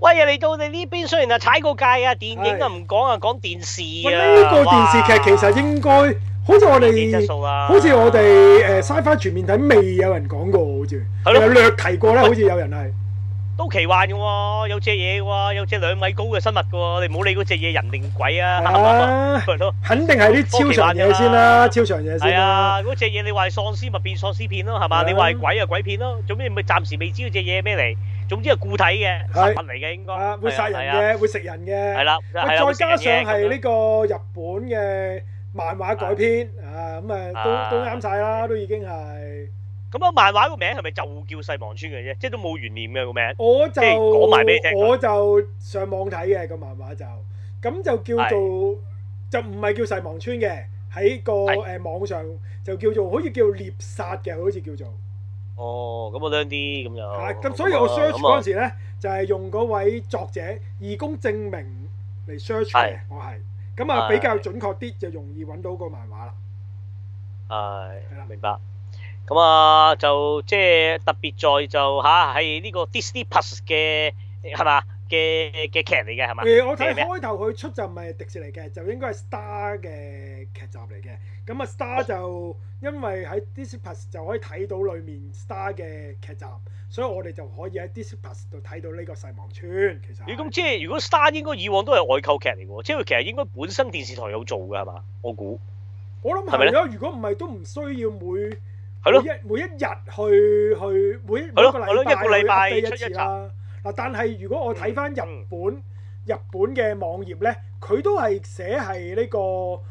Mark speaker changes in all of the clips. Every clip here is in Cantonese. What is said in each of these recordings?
Speaker 1: 喂，嚟到你呢邊，雖然踩過界啊，電影啊唔講啊，講電視
Speaker 2: 喂，
Speaker 1: 啊。
Speaker 2: 呢個電視劇其實應該好似我哋，好似我哋Sci-Fi 全面睇未有人講過，好似有略提過咧，好似有人係。
Speaker 1: 都奇幻嘅喎，有隻嘢嘅喎，有隻2米高嘅生物嘅喎，你唔好理嗰隻嘢人定鬼啊，係咯，
Speaker 2: 肯定係啲超常嘢先啦，超常嘢先啦。
Speaker 1: 係啊，嗰隻嘢你話係喪屍咪變喪屍片咯，係嘛？你話係鬼啊鬼片咯，總之咪暫時未知嗰隻嘢咩嚟，總之係固體嘅實物嚟嘅應該。
Speaker 2: 會殺人嘅，會食人嘅。
Speaker 1: 係啦，
Speaker 2: 再加上係呢個日本嘅漫畫改編啊，咁啊都啱晒啦，都已經係。
Speaker 1: 咁啊，漫畫個名係咪就叫細忘村嘅啫？即係都冇懸念嘅個名。
Speaker 2: 我就
Speaker 1: 講埋俾你聽。
Speaker 2: 我就上網睇嘅個漫畫就，咁就叫做就唔係叫細忘村嘅，喺個網上就叫做好似叫獵殺嘅，好似叫做。
Speaker 1: 哦，咁我靚啲咁就。
Speaker 2: 係咁，所以我 search 嗰陣時咧，就係用嗰位作者義工證明嚟 search 嘅，我係咁啊比較準確啲，就容易揾到個漫畫啦。
Speaker 1: 係啦，明白。咁啊，就即係特別在就嚇係呢個 Disney Plus 嘅係嘛嘅劇嚟嘅係嘛？
Speaker 2: 我睇開頭佢出就唔係迪士尼嘅，就應該係 Star 嘅劇集嚟嘅。咁啊 Star 就因為喺 Disney Plus 就可以睇到裡面 Star 嘅劇集，所以我哋就可以喺 Disney Plus 度睇到呢個細忘村。其實咁
Speaker 1: 即係如果 Star 應該以往都係外購劇嚟嘅喎，即係佢其實應該本身電視台有做嘅係嘛？我估。
Speaker 2: 我諗係咯，如果唔係都唔需要每一日去每一個禮拜去 update 一次啦。嗱，但係如果我睇翻日本嘅網頁咧，佢都係寫係呢個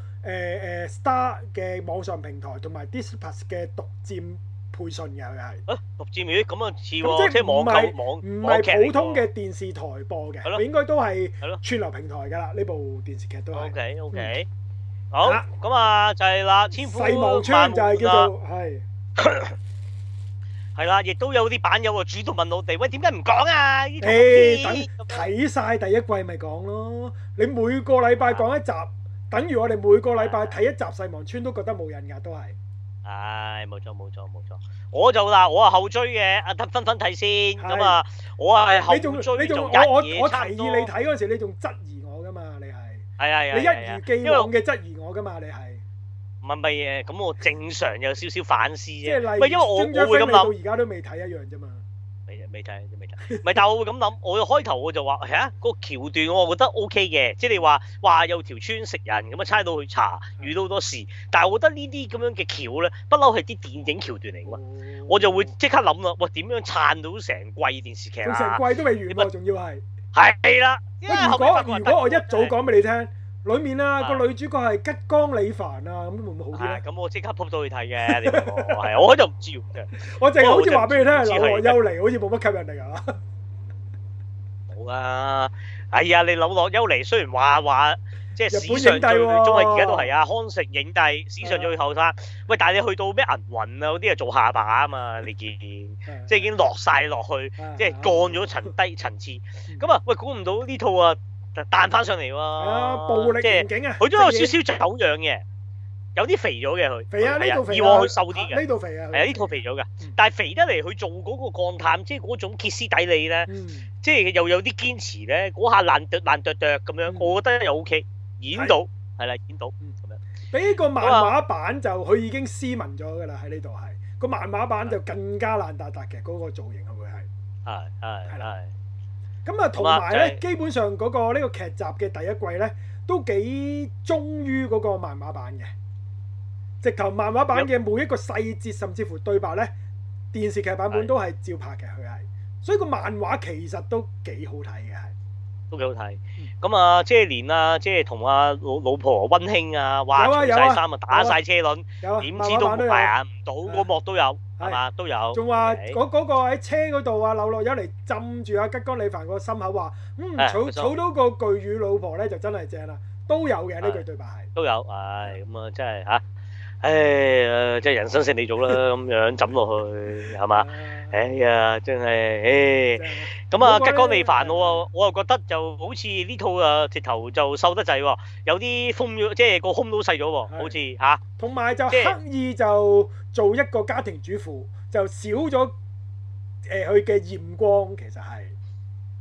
Speaker 2: Star 嘅網上平台同埋 Disney Plus 嘅獨佔配信嘅佢係。
Speaker 1: 獨佔嘅咁啊似喎，即係網購
Speaker 2: 唔係普通嘅電視台播嘅，佢應該都係串流平台㗎啦。呢部電視劇都係。
Speaker 1: OK，好咁啊就係啦，千夫
Speaker 2: 細忘村就係叫做係。
Speaker 1: 係啦，亦都有啲版友啊主動問我哋，喂，點解唔講啊？
Speaker 2: 等睇晒第一季咪講咯。你每個禮拜講一集，等於我哋每個禮拜睇一集細忘村都覺得冇癮㗎，都係。
Speaker 1: 唉，冇錯。我就嗱，我係後追嘅，阿分睇先。咁啊，我係後追做日嘢差唔多。
Speaker 2: 我提議你睇嗰陣時，你仲質疑我㗎嘛？你係。
Speaker 1: 係。
Speaker 2: 你一如既往嘅質疑我㗎嘛？你係。
Speaker 1: 唔係咁我正常有少少反思啫。
Speaker 2: 即係例如，
Speaker 1: 因為我會咁諗，
Speaker 2: 到而家都未睇一樣啫嘛。
Speaker 1: 未睇。唔係，但係我會咁諗，我開頭我就話個橋段我覺得 OK 嘅，即係你話有條村食人咁啊，差到去查，遇到好多事。但係我覺得呢啲咁樣嘅橋咧，不嬲係啲電影橋段嚟㗎嘛，我就會即刻諗啦，喂，點樣撐到成季電視劇啊？
Speaker 2: 成季都未完喎，仲要係。
Speaker 1: 係啦。
Speaker 2: 如果我一早講俾你聽。裏面啊個女主角係吉岡里帆啊，咁會唔會好啲咧？
Speaker 1: 咁我即刻撲到去睇嘅，你問我係，我就唔知嘅。
Speaker 2: 我淨係好似話俾你聽，柳樂優彌好似冇乜吸引力啊。
Speaker 1: 冇啊！哎呀，你柳樂優彌雖然話即係史上最中係而家都係啊，康城影帝，史上最後生。喂，但係你去到咩銀魂啊嗰啲啊做下巴啊嘛，你見即係已經落晒落去，即係降咗低層次。咁啊，喂，估唔到呢套啊！彈翻上嚟喎，
Speaker 2: 暴力刑警啊！
Speaker 1: 佢都有少少走樣嘅，有啲肥咗嘅佢。
Speaker 2: 肥啊！呢套肥啊！
Speaker 1: 以往佢瘦啲嘅。
Speaker 2: 呢套肥啊！
Speaker 1: 係啊，呢套肥咗嘅，但係肥得嚟佢做嗰個鋼探，即係嗰種歇斯底里咧，即係又有啲堅持咧，嗰下爛啄咁樣，我覺得又 OK，演到係啦，演到咁樣。
Speaker 2: 比個漫畫版就佢已經斯文咗㗎啦，喺呢度係個漫畫版就更加爛達達嘅嗰個造型會係。係啦。咁啊，同埋咧，基本上嗰個呢個劇集嘅第一季咧，都幾忠於嗰個漫畫版嘅。直頭漫畫版嘅每一個細節，甚至乎對白咧，電視劇版本都係照拍嘅，佢係。所以個漫畫其實都幾好睇嘅，係。都幾好睇。咁啊，即係連啊，即係同阿老婆溫馨啊，哇，除晒衫啊，打晒車輪，點知都排唔到嗰幕都有。係嘛，都有。仲話嗰個喺車嗰度啊，柳樂優彌浸住阿吉岡里帆個心口話，儲到個巨乳老婆咧就真係正啦，都有嘅呢句對白係。都有，咁啊真係嚇，即係人生勝利組啦咁樣枕落去係嘛？哎呀，真係，咁啊吉岡里帆我又覺得就好似呢套啊直頭就瘦得滯喎，有啲風咗，即係個胸都細咗喎，好似嚇。同埋就刻意就做一個家庭主婦，就少咗佢嘅豔光，其實係。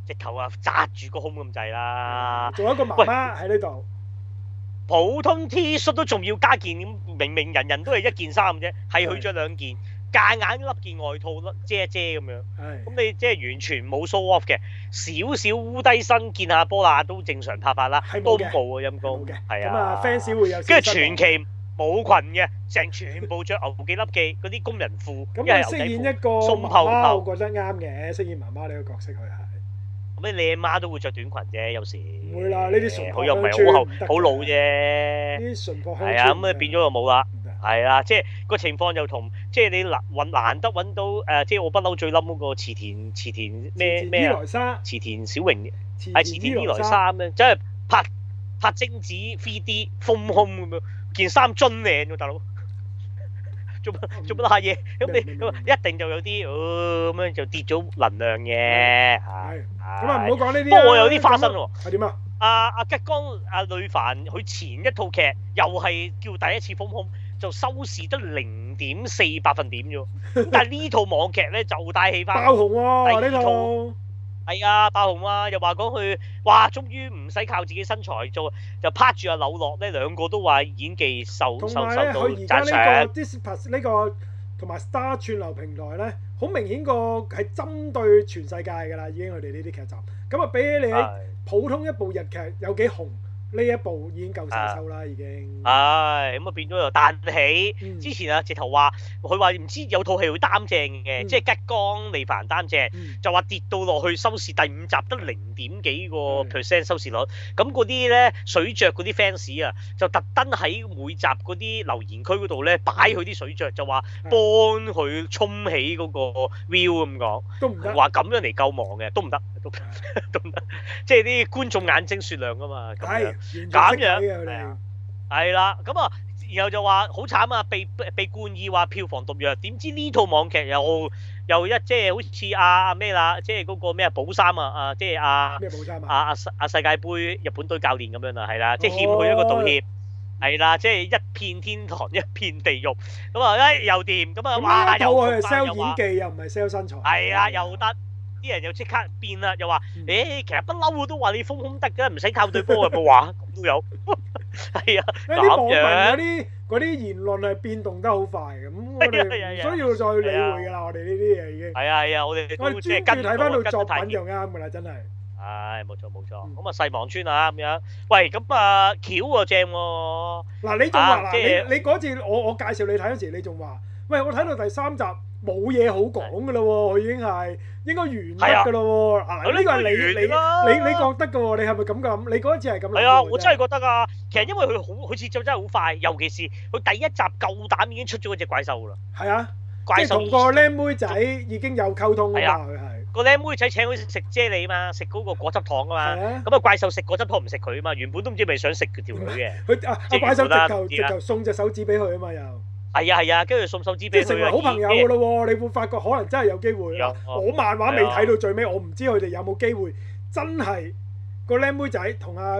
Speaker 1: 直頭啊紮住個胸咁滯啦。
Speaker 2: 仲有一個媽媽喺呢度。
Speaker 1: 普通 T 恤都仲要加件，明明人人都係一件衫啫，係佢着兩件，夾硬笠件外套遮一遮咁樣。咁你即係完全冇 show off 嘅，少少烏低身見下波啦都正常拍法啦，都冇啊陰公。係啊。
Speaker 2: 咁啊 fans 會有。
Speaker 1: 跟住傳奇冇裙嘅，全部着牛記笠記嗰啲工人褲，
Speaker 2: 咁佢飾演一個媽媽，我覺得啱嘅，飾演媽媽呢個角色佢係。
Speaker 1: 咁你阿媽都會着短裙啫，有時。
Speaker 2: 唔會啦，呢啲純
Speaker 1: 佢又唔係好老啫。
Speaker 2: 呢啲純樸鄉村。
Speaker 1: 係啊，咁啊變咗就冇啦。係啊，即係個情況又同即係你難得揾到即係我不嬲最冧嗰個池田咩啊？池田小榮係池田伊萊莎咧，即係拍精子 3D 豐胸咁樣，件衫樽靚喎，大佬。做乜得下嘢？咁你一定就有啲咁樣就跌咗能量嘅。
Speaker 2: 係。咁啊唔好講呢啲。
Speaker 1: 不過我有啲花生喎。
Speaker 2: 係點啊？
Speaker 1: 阿吉江呂帆佢前一套劇又係叫第一次豐胸，就收視得0.4百分點啫。但係呢套網劇咧就帶起翻
Speaker 2: 爆紅喎呢套。
Speaker 1: 係啊，爆紅啊！又話講佢，哇，終於唔使靠自己身材做，就拍住阿柳樂咧，兩個都話演技受到讚賞。同埋咧，佢而家呢個
Speaker 2: Disney+ 呢個同埋 Star 串流平台咧，好明顯個係針對全世界㗎啦，已經佢哋呢啲劇集。咁啊，比起你喺普通一部日劇有幾紅，呢一部已經夠成收啦，已經。係
Speaker 1: 咁啊，變咗又彈起。之前啊，直頭話佢話唔知有套戲會擔正嘅，即係吉江利帆擔正，就話跌到落去收視第5集得0.幾個 percent 收視率。咁嗰啲咧水著嗰啲 fans 啊，就特登喺每集嗰啲留言區嗰度咧擺佢啲水著，就話幫佢衝起嗰個 view 咁講。
Speaker 2: 都唔得。
Speaker 1: 話咁樣嚟救亡嘅，都唔得，都唔得。即係啲觀眾眼睛雪亮㗎嘛。
Speaker 2: 係。
Speaker 1: 咁樣係啦，咁啊，然後就話好慘啊，被冠以話票房毒藥，點知呢套網劇又即係好似阿咩啦，即係嗰個咩寶三啊，即係
Speaker 2: 咩寶三啊？
Speaker 1: 世界盃日本隊教練咁樣啦，係啦，即係欠佢一個道歉，係啦，即係一片天堂一片地獄，咁啊又掂，咁啊哇又
Speaker 2: 佢係 sell 演技又唔係 sell 身材，
Speaker 1: 係啊又得。啲人又即刻變啦，又話其實不嬲都話你豐胸得㗎，唔使靠對波有冇話咁都有，係啊，
Speaker 2: 啲網民嗰啲言論係變動得好快嘅，咁我哋唔需要再理會㗎啦，我哋呢啲嘢已經係
Speaker 1: 啊，我哋即係跟
Speaker 2: 睇翻到作品就啱㗎啦，真係。
Speaker 1: 係冇錯，咁啊細網村啊咁樣，喂咁啊橋喎正喎。
Speaker 2: 嗱你仲話嗱你嗰次我介紹你睇嗰時，你仲話喂我睇到第3集。冇嘢好講㗎咯喎，佢已經係應該完得㗎咯喎。呢個係你覺得㗎喎，你係咪咁諗？你嗰一次係咁諗？
Speaker 1: 係啊，我真係覺得啊。其實因為佢好似就真係好快，尤其是佢第一集夠膽已經出咗嗰隻怪獸㗎啦。係
Speaker 2: 啊，即係同個靚妹仔已經有溝通㗎嘛，佢係個
Speaker 1: 靚妹仔請佢食啫喱嘛，食嗰個果汁糖啊嘛。咁啊怪獸食果汁糖唔食佢啊嘛，原本都唔知咪想食條女嘅。
Speaker 2: 佢怪獸直頭送隻手指俾佢啊嘛又。
Speaker 1: 係啊，跟住送手指俾佢，
Speaker 2: 即係成為好朋友㗎咯喎！你會發覺可能真係有機會啦。我漫畫未睇到最尾，我唔知佢哋有冇機會真係個靚妹仔同阿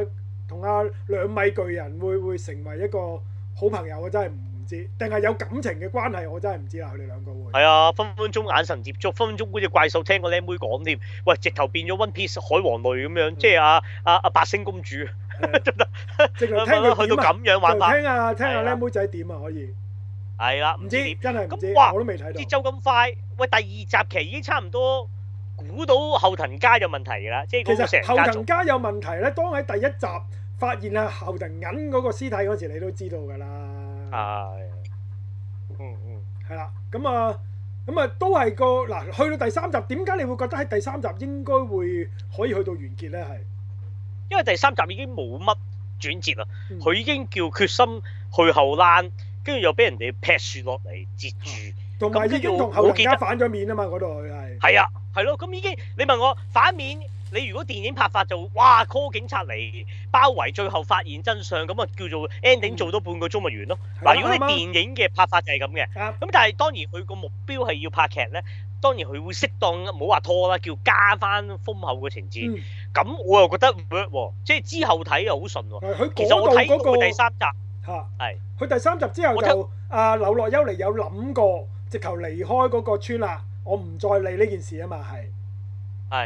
Speaker 2: 2米巨人會成為一個好朋友，我真係唔知。定係有感情嘅關係，我真係唔知啦。佢哋兩個會係啊，
Speaker 1: 分分鐘眼神接觸，分分鐘嗰隻怪獸聽個靚妹講添。喂，直頭變咗 One Piece 海王類咁樣，即係阿白星公主，
Speaker 2: 直頭聽佢
Speaker 1: 去到咁樣玩法。
Speaker 2: 聽下靚妹仔點啊可以。
Speaker 1: 係啦，
Speaker 2: 唔知真係唔知，
Speaker 1: 哇
Speaker 2: 我都未睇到。
Speaker 1: 節奏咁快，喂，第2集期已經差唔多估到後藤家有問題㗎啦，即係
Speaker 2: 其實後藤家有問題咧，當喺第1集發現係後藤銀嗰個屍體嗰時，你都知道㗎啦。係，係啦，咁啊都係個嗱，去到第3集，點解你會覺得喺第3集應該會可以去到完結咧？係
Speaker 1: 因為第3集已經冇乜轉折啦，佢已經叫決心去後欄。跟住又俾人哋劈樹落嚟截住，
Speaker 2: 同埋已經同後藤家反咗面啊嘛！嗰度佢係
Speaker 1: 係啊，係咯，咁已經你問我反面，你如果電影拍法就哇 call 警察嚟包圍，最後發現真相，咁啊叫做 ending 做多半個鐘咪完咯。嗱，如果你電影嘅拍法就係咁嘅，咁但係當然佢個目標係要拍劇咧，當然佢會適當唔好話拖啦，叫加翻豐厚嘅情節。咁我又覺得 work 喎，即係之後睇又好順喎。其實我睇過第3集。
Speaker 2: 係，佢第3集之後就柳樂優彌有諗過，直頭離開嗰個村啦，我唔再理呢件事啊嘛，係。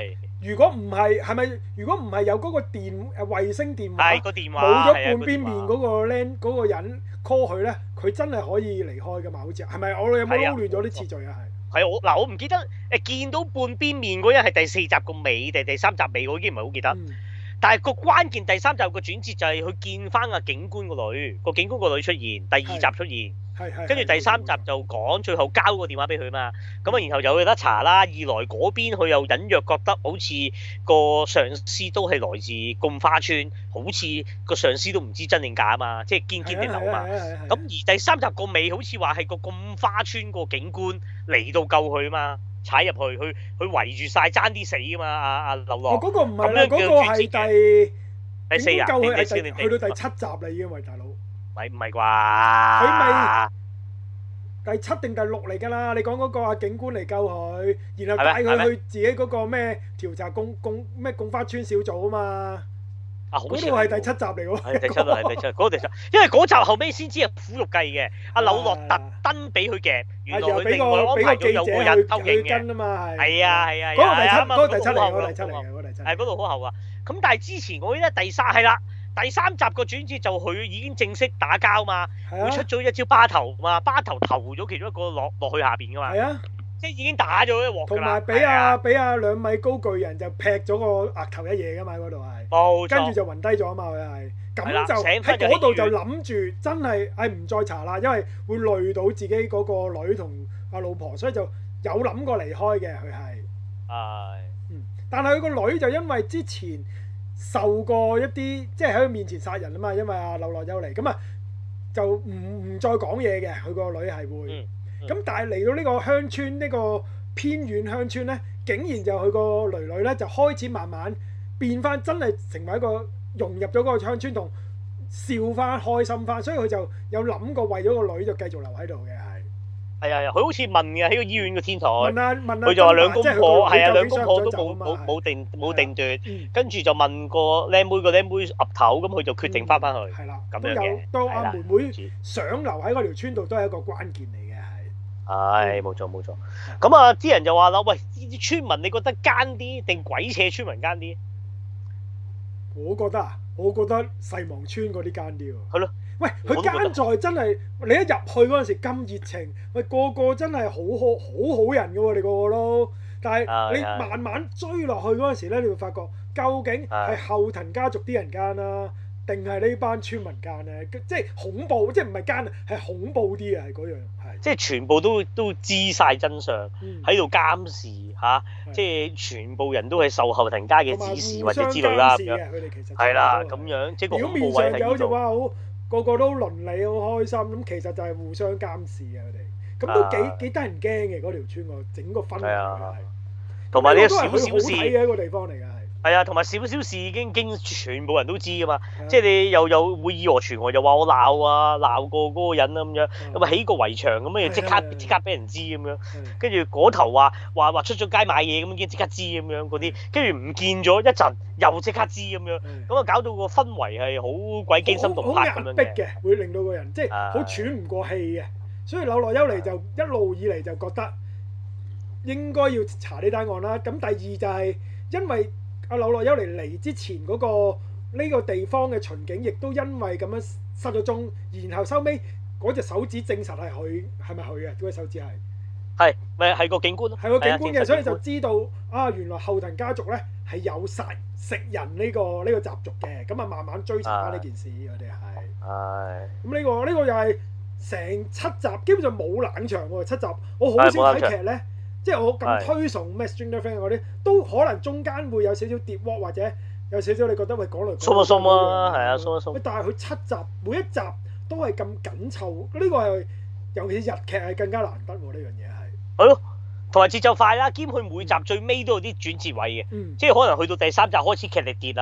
Speaker 2: 如果唔係，係咪？如果唔係有嗰個衛星電話，
Speaker 1: 係個電話
Speaker 2: 冇咗半邊面嗰個人 call 佢咧，佢真係可以離開噶嘛？好似係咪？我有冇撈亂咗啲次序啊？
Speaker 1: 係我唔記得見到半邊面嗰人係第4集個尾定第3集尾，我已經唔係好記得。但係個關鍵第3集個轉折就係佢見翻阿警官個女，個警官個女出現，第2集出現。跟住第3集就講最後交個電話俾佢嘛，咁啊然後就有得查啦。二來嗰邊佢又隱約覺得好似個上司都係來自貢花村，好似個上司都唔知真定假啊嘛，即係堅定流嘛。咁而第3集個尾好似話係個貢花村個警官嚟到救佢啊嘛，踩入去，佢圍住晒爭啲死啊嘛，阿劉樂。
Speaker 2: 嗰個唔係啦，嗰個係
Speaker 1: 第4日，
Speaker 2: 救佢係去到第7集啦已經，喂大佬。
Speaker 1: 唔係啩？
Speaker 2: 佢咪第7定第6嚟㗎啦？你講嗰個阿警官嚟救佢，然後帶佢去自己嗰個咩調查貢花村小組啊嘛。嗰度係第7集嚟喎。
Speaker 1: 係第7啊，係第7，嗰個第7。因為嗰集後尾先知係苦肉計嘅。阿柳樂特登俾佢夾，原來佢另外安排咗有個人偷影嘅。係啊。
Speaker 2: 嗰個第7嚟，嗰個第7嚟嘅，嗰個第7。
Speaker 1: 係嗰度好後啊！咁但係之前我記得第3係啦。第3集個轉折就佢已經正式打交嘛，佢出咗一招巴頭嘛，巴頭投咗其中一個落去下邊噶嘛，即係已經打咗一鑊㗎啦。
Speaker 2: 同埋俾阿2米高巨人就劈咗個額頭一嘢㗎嘛，嗰度係，
Speaker 1: 冇錯，
Speaker 2: 跟住就暈低咗啊嘛，佢係，咁就喺嗰度就諗住真係唔再查啦，因為會累到自己嗰個女同阿老婆，所以就有諗過離開嘅佢係，但係佢個女就因為之前受過一啲即係喺佢面前殺人啊嘛，因為阿柳樂優彌咁啊，就唔再講嘢嘅，佢個女係會咁，但係嚟到呢個鄉村呢個偏遠鄉村呢，竟然就佢個囡囡呢就開始慢慢變翻，真係成為一個融入咗嗰個鄉村同笑翻開心翻，所以佢就有諗過為咗個女就繼續留喺度嘅。
Speaker 1: 係啊，佢好似問嘅喺個醫院個天台，
Speaker 2: 問
Speaker 1: 佢就話兩公婆係啊，兩公婆都冇定奪，跟住就問個靚妹岌頭，咁佢就決定翻去。
Speaker 2: 係啦，
Speaker 1: 咁樣嘅。
Speaker 2: 到阿妹妹想留喺嗰條村度，都係一個關鍵嚟嘅，
Speaker 1: 係。係冇錯。咁啊，啲人就話啦，喂，啲村民你覺得奸啲定鬼扯村民奸啲？
Speaker 2: 我覺得細望村嗰啲奸啲喎。
Speaker 1: 係咯。
Speaker 2: 喂，佢奸在真係你一入去嗰陣時咁熱情，喂個個真係好好人嘅喎，你個個都。但係你慢慢追落去嗰陣時咧，你會發覺究竟係後藤家族啲人奸啦，定係呢班村民奸咧？即係恐怖，即係唔係奸啊，係恐怖啲啊，係嗰樣係。即
Speaker 1: 係全部都知晒真相，喺度監視嚇，即係全部人都係受後藤家嘅指示或者之類啦咁樣。佢哋其實係啦，咁樣即係個恐怖位喺呢度。
Speaker 2: 個個都鄰里好開心，咁其實就係互相監視啊！佢哋咁都幾得人驚嘅嗰條村個整個氛圍係，
Speaker 1: 同埋呢個少少事
Speaker 2: 嘅一個地方嚟㗎係。
Speaker 1: 係啊，同埋少少事已經全部人都知㗎嘛，即係你又會以訛傳訛，又話我鬧過嗰個人啊咁樣，咁啊起個圍牆咁樣，即刻俾人知咁樣，跟住嗰頭話出咗街買嘢咁已經即刻知咁樣嗰啲，跟住唔見咗一陣又即刻知咁樣，咁啊搞到個氛圍係好鬼驚心動魄咁樣嘅。好壓迫嘅，會令到個人即係好喘唔過氣嘅，所以柳樂優彌就一路以嚟就覺得應該要查呢單案啦。咁第二就係因為阿柳樂優彌嚟之前嗰個呢個地方嘅巡警，亦都因為咁樣失咗蹤，然後收尾嗰隻手指證實係佢，係咪佢嘅？嗰隻手指係咪係個警官咯？
Speaker 2: 係個警官嘅，所以就知道啊，原來後藤家族咧係有殺食人呢個習俗嘅，咁啊慢慢追查翻呢件事，我哋係咁呢個又係成7集基本上冇冷場喎，7集我好少睇劇咧。即係我咁推崇咩 Stranger Things 嗰啲，都可能中間會有少少跌鑊，或者有少少你覺得喂講嚟
Speaker 1: 鬆一鬆啊，係啊，鬆一鬆。
Speaker 2: 但係佢7集每一集都係咁緊湊，呢個係尤其是日劇係更加難得喎，呢樣嘢係。
Speaker 1: 係咯，同埋節奏快啦，兼佢每集最尾都有啲轉折位嘅，即係可能去到第3集開始劇力跌啦，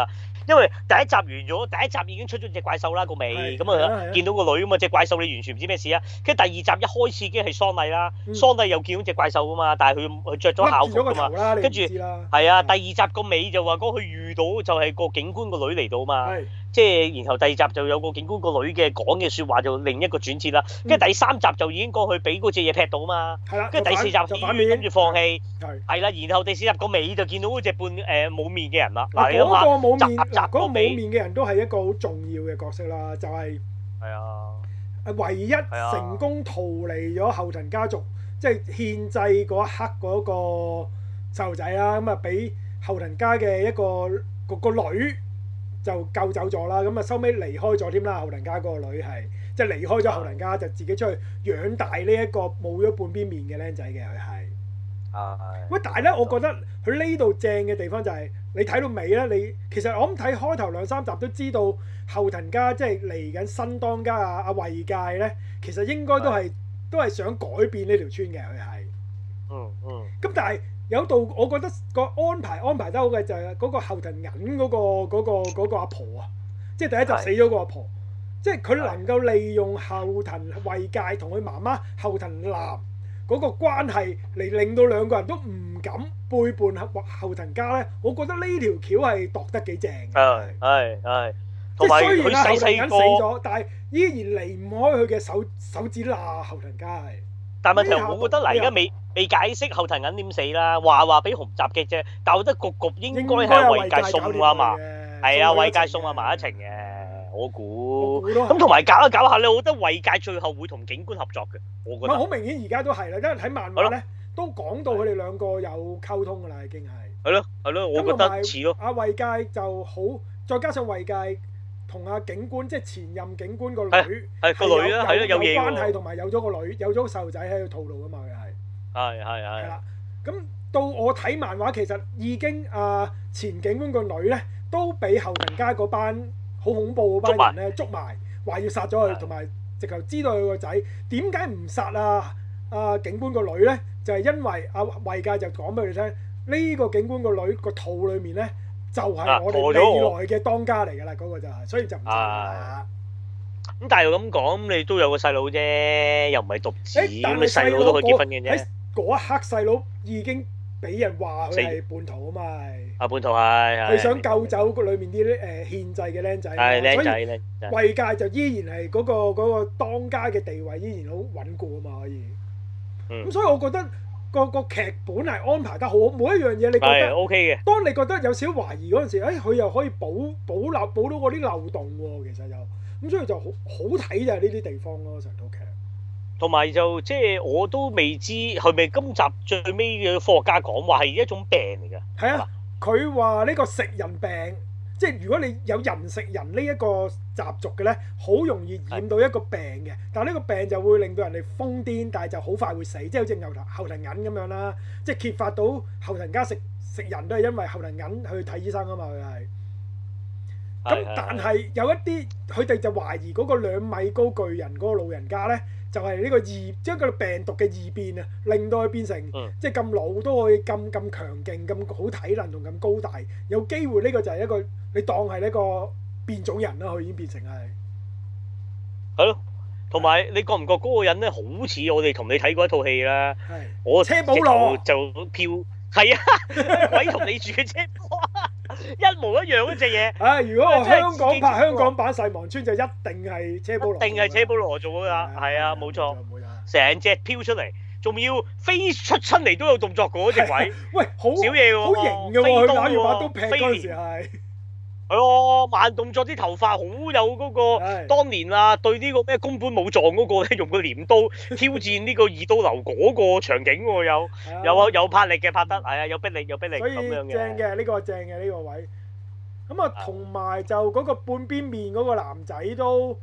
Speaker 1: 因為第一集完咗，第一集已經出咗隻怪獸啦個尾，咁啊見到個女咁啊隻怪獸你完全唔知咩事啊，跟住第二集一開始已經係喪禮啦，喪禮又見到隻怪獸噶嘛，但係佢着咗校服噶嘛，跟住係啊第二集個尾就話講佢遇到就係個警官個女嚟到嘛，即係然後第二集就有個警官個女嘅講嘅説話就另一個轉折啦，跟住第三集就已經講佢俾嗰隻嘢劈到嘛，跟住第四集跟住放棄，係啦，然後第四集個尾就見到嗰隻半冇面嘅人啦，嗱你諗下，
Speaker 2: 嗰個冇面嘅人都係一個好重要嘅角色啦，就係唯一成功逃離咗後藤家族，即係獻祭嗰一刻嗰個細路仔啦，咁啊俾後藤家嘅一個女就救走咗啦，咁啊收尾離開咗添啦，後藤家嗰個女係即係離開咗後藤家，就自己出去養大呢一個冇咗半邊面嘅僆仔嘅佢係。喂，但係咧，我覺得佢呢度正嘅地方就係你睇到尾咧，你其實我諗睇開頭兩三集都知道後藤家即係嚟緊新當家阿惠介咧，其實應該都係想改變呢條村嘅佢係。咁但係有度我覺得個安排得好嘅就係嗰個後藤銀嗰個阿婆啊，即係第一集死咗個阿婆，即係佢能夠利用後藤惠介同佢媽媽後藤男嗰個關係嚟令到兩個人都唔敢背叛後藤家咧，我覺得呢條橋係度得幾正嘅。即係雖然後藤銀死咗，但係依然離唔開佢嘅手指罅。後藤家係。但係問題我覺得嗱，而家未解釋後藤銀點死啦，話俾紅襲擊啫。但我覺得局應該係惠介送啊嘛，係啊，惠介送阿埋一程嘅。我估咁同埋搞下咧，我覺得惠介最後會同警官合作嘅，我覺得。好明顯而家都係啦，因為睇漫畫咧都講到佢哋兩個有溝通㗎啦，已經係。係咯，我覺得似咯。阿惠介就好，再加上惠介同阿警官即係前任警官個女係個女啦，係咯有嘢關係，同埋有咗個女，有咗個細路仔喺個肚度㗎嘛，佢係。係啦，咁到我睇漫畫，其實已經前警官個女咧都俾後藤家嗰班好恐怖嗰班人咧捉埋，話要殺咗佢，同埋直頭知道佢個仔點解唔殺警官個女咧？就係因為惠介就講俾佢哋聽，呢個警官個女個肚裡面咧就係我哋未來嘅當家嚟㗎啦，嗰個就係，所以就唔殺啦。咁但係又咁講，你都有個細佬啫，又唔係獨子，咁你細佬都可以結婚嘅啫。喺嗰一刻，細佬已經俾人話佢係叛徒啊嘛。叛徒係。佢想救走裏面啲獻祭嘅僆仔。係僆仔。惠介就依然係嗰個當家嘅地位依然好穩固啊嘛，可以。咁所以我覺得個劇本係安排得好，每一樣嘢你覺得 OK 嘅。當你覺得有少少懷疑嗰陣時，佢又可以補到嗰啲漏洞喎，其實又。咁所以就好睇就係呢啲地方咯，成套劇。同埋就即係我都未知係咪今集最尾嘅科學家講話係一種病嚟㗎。係啊，佢話呢個食人病，即係如果你有人食人呢一個習俗嘅咧，好容易染到一個病嘅。但係呢個病就會令到人哋瘋癲，但係就好快會死，即係好似後藤銀咁樣啦。即係揭發到後藤家食人都係因為後藤銀去睇醫生啊嘛，佢係。咁但係有一啲佢哋就懷疑嗰個2米高巨人嗰個老人家咧，就係呢個將個病毒嘅異變啊，令到佢變成即係咁老都可以咁強勁、咁好體能同咁高大，有機會呢個就係一個你當係呢個變種人啦，佢已經變成係咯。同埋你覺唔覺嗰個人咧好似我哋同你睇過一套戲啦？我車保羅就票係啊，鬼同你住嘅車保羅。一模一樣嗰隻嘢。如果我香港拍香港版《細望村》就一定係車保羅，一定係車保羅做㗎啦。係啊，冇錯，成隻飄出嚟，仲要飛出親嚟都有動作嗰隻鬼。喂，好少嘢喎，好型㗎喎，佢打完把刀劈嗰陣時係。係咯，慢動作啲頭髮好有嗰個當年啊，對呢個咩宮本武藏嗰個咧，用個鐮刀挑戰呢個二刀流嗰個場景喎，有魄力嘅拍得，係啊，有逼力咁樣嘅。正嘅，呢個正嘅呢個位。咁啊，同埋就嗰個半邊面嗰個男仔都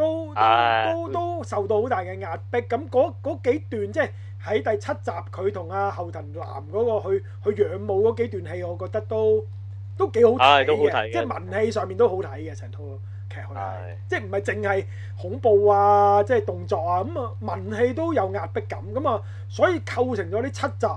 Speaker 2: 受到好大嘅壓迫。咁嗰幾段即係喺第7集佢同阿後藤男嗰個去仰慕嗰幾段戲，我覺得都幾好睇嘅，即係文戲上面都好睇嘅，成套劇去睇，即係唔係淨係恐怖啊，即係動作啊，咁啊文戲都有壓迫感，咁啊所以構成咗呢7集，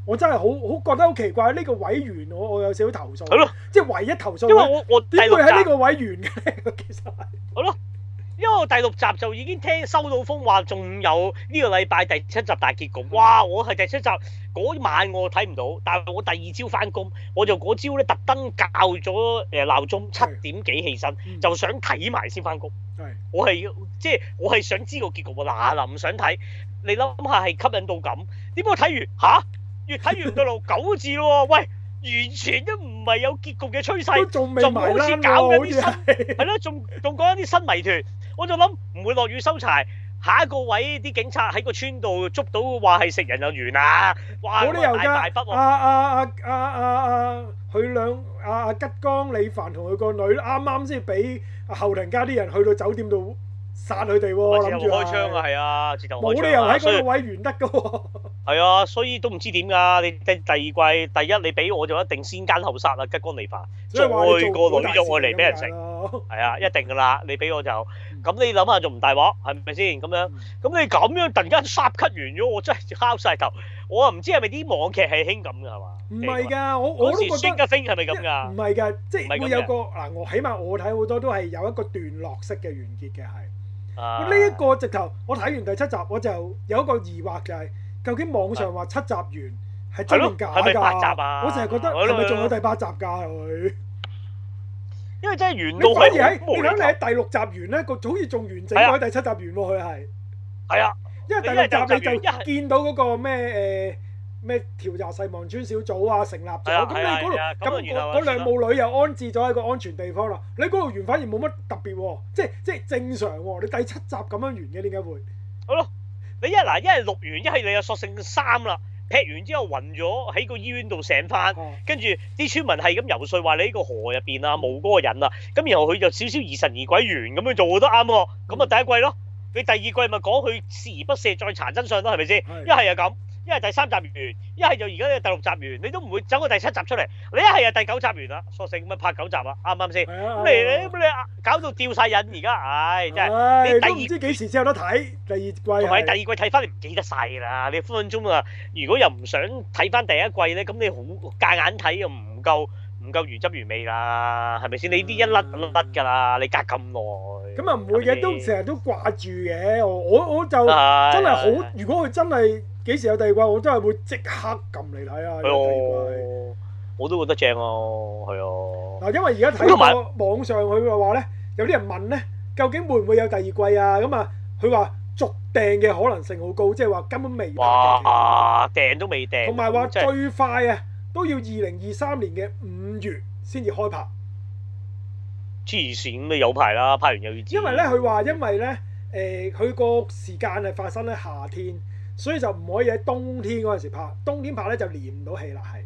Speaker 2: 我真係好覺得好奇怪，呢個位完我有少少投訴。
Speaker 1: 係咯，
Speaker 2: 即係唯一投訴。
Speaker 1: 因為我
Speaker 2: 點會喺呢個位完嘅咧？其實係。
Speaker 1: 係咯。因為我第6集就已經收到風話，仲有呢個禮拜第7集大結局。哇！我係第7集嗰晚我睇唔到，但係我第2朝翻工，我就嗰朝咧特登校咗鬧鐘7點幾起身，就想睇埋先翻工。我係我係想知個結局喎，嗱唔想睇。你諗下係吸引到咁，點解我睇完嚇？越睇越到路9字咯喎，喂！完全都唔係有結局嘅趨勢，仲好似搞緊啲新係咯，仲講緊啲新謎團。我就諗唔會落雨收柴，下一個位啲警察喺個村度捉到話係食人就完啦。哇！
Speaker 2: 冇理由㗎，
Speaker 1: 大筆喎。
Speaker 2: 佢兩吉江李凡同佢個女啱啱先俾後庭家啲人去到酒店度殺佢哋喎，諗住
Speaker 1: 開槍啊，係啊，自動開槍。
Speaker 2: 冇理由喺嗰個位完得㗎喎。
Speaker 1: 係啊，所以都唔知點㗎。你第2季第一你俾我就一定先奸後殺啦，吉江李凡，再個女咗我嚟俾人食，係啊，一定㗎啦。你俾我就咁，你諗下仲唔大鑊係咪先咁樣？咁你咁樣突然間霎cut完咗，我真係敲晒頭。我又唔知係咪啲網劇係興咁㗎係嘛？
Speaker 2: 唔係㗎，我都覺得。
Speaker 1: Stranger Things係咪咁㗎？
Speaker 2: 唔係㗎，即係會有個嗱，我起碼我睇好多都係有一個段落式嘅完結嘅係。呢一個直頭，我睇完第7集我就有一個疑惑就係。究竟網上話7集完係真定假㗎？
Speaker 1: 係咪8集啊？
Speaker 2: 我成日覺得係咪仲有第8集㗎佢？
Speaker 1: 因為真係完到係
Speaker 2: 你睇你喺第6集完咧，個好似仲完整過喺第7集完喎，佢係。係啊，因為第6集你就見到嗰個咩調查細望村小組啊成立咗，咁你嗰度咁嗰兩母女又安置咗喺個安全地方啦。你嗰度完反而冇乜特別喎，即係正常喎。你第7集咁樣完嘅點解會？好咯。你一係錄完，一係你又索性3啦，劈完之後暈咗喺個醫院度醒翻，跟住啲村民係咁游説話你呢個河入邊啊冇嗰個人啊，咁然後佢就少少疑神疑鬼完咁樣做都啱喎，咁啊第1季咯，你第2季咪講佢鍥而不捨再查真相咯，係咪先？一係又咁，一係第3集完，一係就而家第6集完，你都唔會走個第7集出嚟，你一係就第9集完啦，索性咪拍9集啊，啱唔啱先？咁你搞到吊晒癮而家，唉真係你第2 唔知幾時先有得睇第2季，
Speaker 1: 同埋第2季睇翻你唔記得晒啦，你分分鐘啊，如果又唔想睇翻第1季咧，咁你好夾硬睇又唔夠原汁原味啦，係咪先？你啲一甩㗎啦，你隔咁耐。咁啊唔會嘅，都成日都掛住嘅。我就真係好，如果佢真係幾時有第2季，我真係會即刻撳嚟睇啊！第2季我都覺得正啊，係啊。嗱，因為而家睇個網上佢嘅話咧，有啲人問咧，究竟會唔會有第2季啊？咁啊，佢話續訂嘅可能性好高，即係話根本未。哇！訂都未訂。同埋話最快啊，都要2023年嘅5月先至開拍。黐線咁，你有排啦，拍完又要。因為咧，佢話因為咧，佢個時間係發生喺夏天，所以就唔可以喺冬天嗰陣時拍。冬天拍咧就連唔到戲啦，係。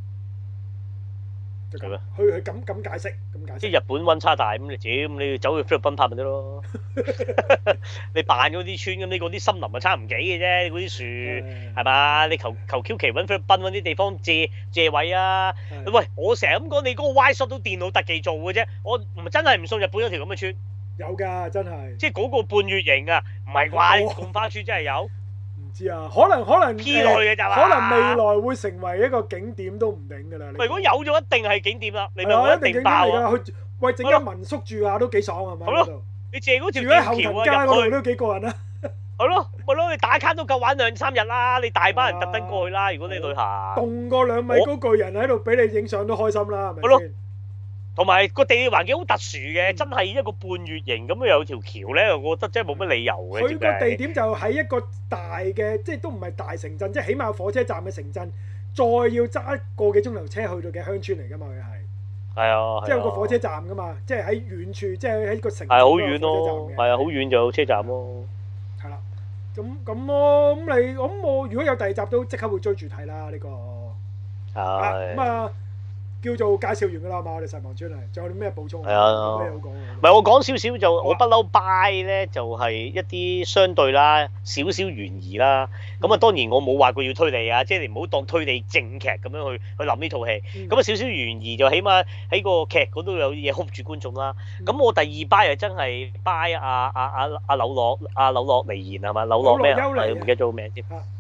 Speaker 1: 係咩？佢咁解釋，即係日本溫差大咁，你走去菲律賓拍咪得咯？你扮嗰啲村咁，你嗰啲森林啊差唔幾嘅啫，嗰啲樹係嘛？你求 Q 其揾菲律賓揾啲地方借位啊！喂，我成日咁講，你嗰個 Y shot 都電腦特技做嘅啫，我真係唔信日本有條咁嘅村。有㗎，真係。即係嗰個半月形啊，唔係啩？貢花村真係有。知啊，可能 P 落去嘅咋嘛？可能未來會成為一個景點都唔定㗎啦。如果有咗，一定係景點啦。你咪一定爆啊！去喂整間民宿住下都幾爽係嘛？好咯，你借嗰條吊橋啊入去都幾過癮啊！係咯，咪咯，你打卡都夠玩2-3日啦！你大班人特登過去啦。如果你旅行，棟個2米高巨人喺度俾你影相都開心啦，係咪先？同埋個地理環境好特殊嘅，真係一個半月形咁樣有條橋咧，我覺得真係冇乜理由嘅。佢個地點就喺一個大嘅，即係都唔係大城鎮，即係起碼火車站嘅城鎮，再要揸個幾鐘頭車去到嘅鄉村嚟㗎嘛，佢係。係啊。即係有個火車站㗎嘛，即係喺遠處，即係喺個城。係好遠咯，係啊，好遠就有車站咯。係啦，咁咯，咁我如果有第2集都即刻會追住睇啦，呢個。係。咁啊。叫做介紹完㗎啦嘛，我哋細望村係，仲有啲咩補充？係啊，有咩好講？唔係我講少少就，我不嬲 buy 咧，就係一啲相對啦，少少懸疑啦。咁啊，當然我冇話過要推理啊，即係你唔好當推理正劇咁樣去諗呢套戲。咁啊，少少懸疑就起碼喺個劇嗰度有嘢 hold 住觀眾啦。咁我第2 buy 啊，真係 buy 阿柳樂離言係嘛？柳樂咩啊？唔記得咗個名添。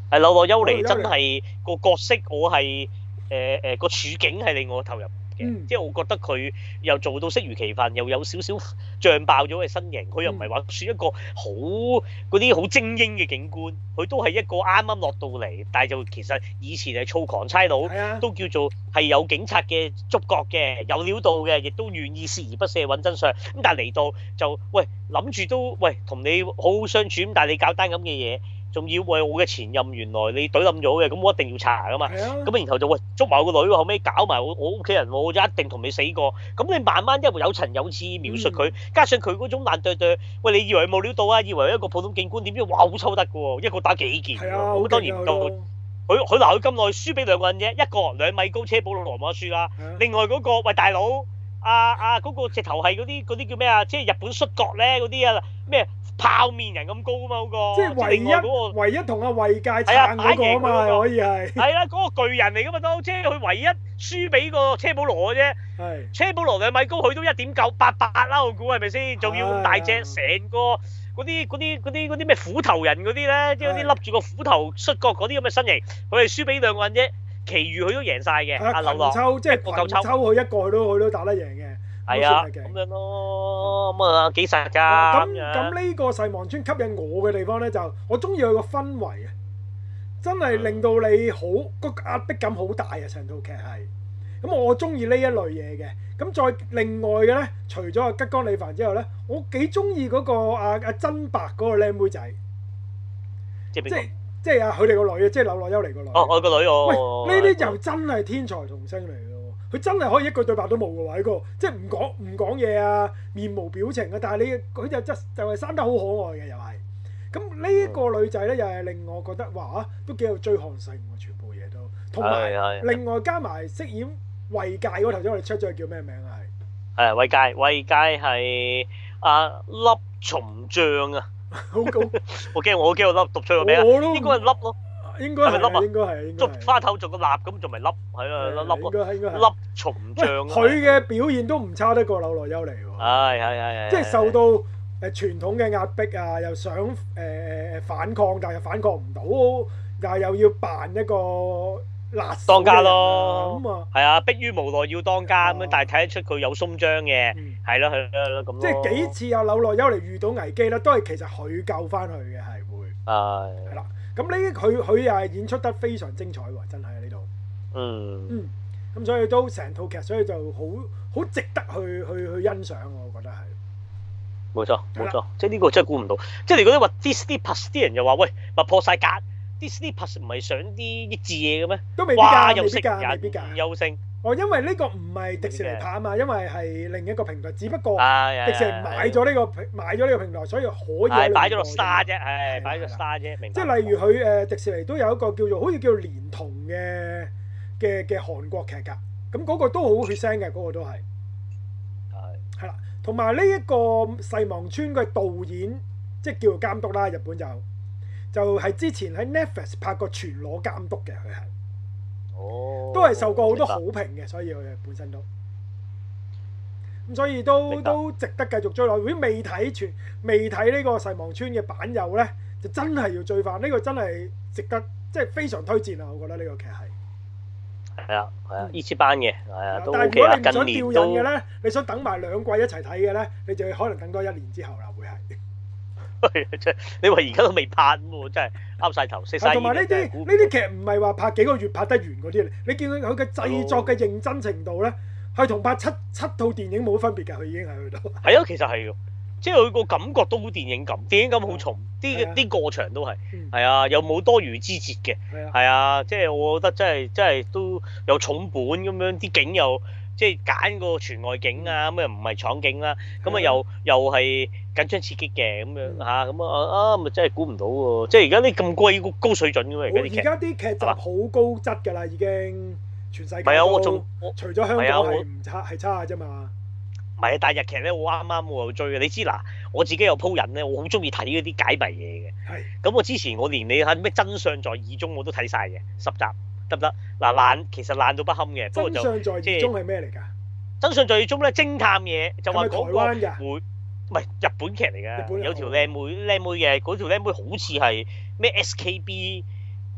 Speaker 1: 係柳樂優彌真係個角色，我係個處境係令我投入嘅，即係我覺得佢又做到適如其分，又有少少脹爆咗嘅身形，佢又唔係話算一個好嗰啲好精英嘅警官，佢都係一個啱啱落到嚟，但係就其實以前係躁狂差佬，都叫做係有警察嘅觸覺嘅，有料到嘅，亦都願意鍥而不捨揾真相。咁但係嚟到就喂諗住都喂同你好好相處，咁但係你搞單咁嘅嘢。仲要喂我嘅前任原來你懟冧咗嘅，咁我一定要查噶嘛。咁然後就喂捉埋我個女，後尾搞埋我屋企人，我就一定同你死過。咁你慢慢一路有層有次描述佢，加上佢嗰種爛對對，喂你以為冇料到啊？以為一個普通警官，點知哇好抽得嘅喎，一個打幾件喎。咁當然唔到佢鬧佢咁耐，輸俾兩個人啫，一個2米高車保羅冇得輸啦。另外嗰個喂大佬嗰個直頭係嗰啲叫咩啊？即係日本摔角咧嗰啲啊咩？泡面人咁高啊嘛嗰個，
Speaker 2: 即係唯一同阿衛介撐嗰個啊嘛，可以係。係
Speaker 1: 啦，嗰個巨人嚟噶嘛都，即係佢唯一輸俾個車保羅嘅啫。係。車保羅2米高，佢都1.988啦，我估係咪先？仲要咁大隻，成個嗰啲咩斧頭人嗰啲咧，即係嗰啲笠住個斧頭摔角嗰啲咁嘅身形，佢係輸俾兩個人啫，其餘佢都贏晒嘅。阿劉樂，
Speaker 2: 即係群抽佢一個，佢都打得贏嘅。
Speaker 1: 係啊，咁樣咯，咁啊幾實㗎。
Speaker 2: 咁呢個誓望村吸引我嘅地方咧，就我中意佢個氛圍啊，真係令到你好個壓迫感好大啊！成套劇係，咁我中意呢一類嘢嘅。咁再另外嘅咧，除咗阿吉岡里帆之後咧，我幾中意嗰個阿真白嗰個靚妹仔，即係佢哋個女啊，即係柳樂優彌個女。
Speaker 1: 我個女我。
Speaker 2: 喂，呢啲又真係天才童星嚟嘅。佢真係可以一句對白都冇嘅喎，呢個即係唔講嘢啊，面無表情啊，但係佢就係生得好可愛嘅又係。咁呢個女仔咧又係令我覺得哇都幾有追看性喎，全部嘢都。同埋另外加埋飾演衛介嗰頭先我哋出咗叫咩名啊？
Speaker 1: 係衛介係阿粒松醬啊！我驚我讀錯個名啊！應該係粒咯。
Speaker 2: 應該係粒啊！應該係
Speaker 1: 捉花頭做個蠟咁，仲咪粒係啊粒咯，粒松醬。
Speaker 2: 佢嘅表現都唔差得過柳樂優彌喎。
Speaker 1: 係。
Speaker 2: 即係受到傳統嘅壓迫啊，又想反抗，但係又反抗唔到，但係又要扮一個辣手
Speaker 1: 當家咯。
Speaker 2: 咁啊，
Speaker 1: 係啊，迫於無奈要當家咁樣，但係睇得出佢有鬆張嘅，係咯咁。
Speaker 2: 即係幾次啊柳樂優彌遇到危機咧，都係其實佢救翻佢嘅，係會係啦。咁呢佢又係演出得非常精彩喎，真係喺呢度。咁所以都成套劇，所以就好值得去欣賞，我覺得係。
Speaker 1: 冇錯，即係呢個真係估唔到。即係你覺得話 Disney Plus 啲人又話喂，咪破晒格 ，Disney Plus 唔係上啲益智嘢嘅咩？
Speaker 2: 都未必㗎，未必㗎，
Speaker 1: 優勝。
Speaker 2: 因為呢個唔係迪士尼拍啊嘛，因為係另一個平台，只不過迪士尼買咗呢個平台，所以可以
Speaker 1: 擺咗落 Star 啫，係擺咗 Star 啫，明白。
Speaker 2: 即係例如佢迪士尼都有一個好似叫連童嘅韓國劇㗎，咁嗰個都好血腥嘅，嗰個都係係啦。同埋呢一個誓望村嘅導演，即係叫做監督啦，日本就係之前喺 Netflix 拍過全裸監督嘅，佢係。都係受過好多好評嘅，所以佢本身都咁，所以都值得繼續追落。如果未睇呢個誓望村嘅版友呢，就真係要追翻呢個，真係值得，即係非常推薦啊！我覺得呢個劇係係啊
Speaker 1: 呢次班嘅係啊都 OK
Speaker 2: 啦。但係如果你唔想吊癮嘅呢，你想等埋2季一齊睇嘅呢，你就可能等多1年之後啦，會係。
Speaker 1: 你話而家都未拍喎，真係啱晒頭，食晒。
Speaker 2: 同埋呢啲劇唔係話拍幾個月拍得完嗰啲，你見佢嘅製作嘅認真程度咧，係同拍七套電影冇分別㗎，佢已經喺度。
Speaker 1: 係啊，其實係㗎，即係佢個感覺都好電影感，電影感好重，啲過場都係啊，又冇多餘之節嘅，係啊，即係我覺得真係都有重本咁樣，啲景又即係揀個全外景啊，咁又唔係廠景啦，咁啊又係緊張刺激嘅咁樣嚇，咁咪真係估唔到喎！即係而家啲咁高水準㗎嘛，而家啲劇。而
Speaker 2: 家啲劇集好高質㗎啦，已經全世界都。
Speaker 1: 係啊，我
Speaker 2: 除咗香港係唔差，係差啫嘛。
Speaker 1: 唔係啊，但係日劇咧，我啱我又追嘅。你知嗱，我自己有鋪癮咧，我好中意睇嗰啲解謎嘢嘅。係。咁我之前我連你睇咩真相在二中我都睇晒嘅10集，得唔得？嗱其實爛到不堪嘅，不過就
Speaker 2: 真相在二中係咩嚟㗎？
Speaker 1: 真相在二中咧，偵探嘢就話講
Speaker 2: 台灣㗎。
Speaker 1: 會唔係日本劇嚟㗎？有條靚妹嘅，嗰條靚妹好似係咩 SKB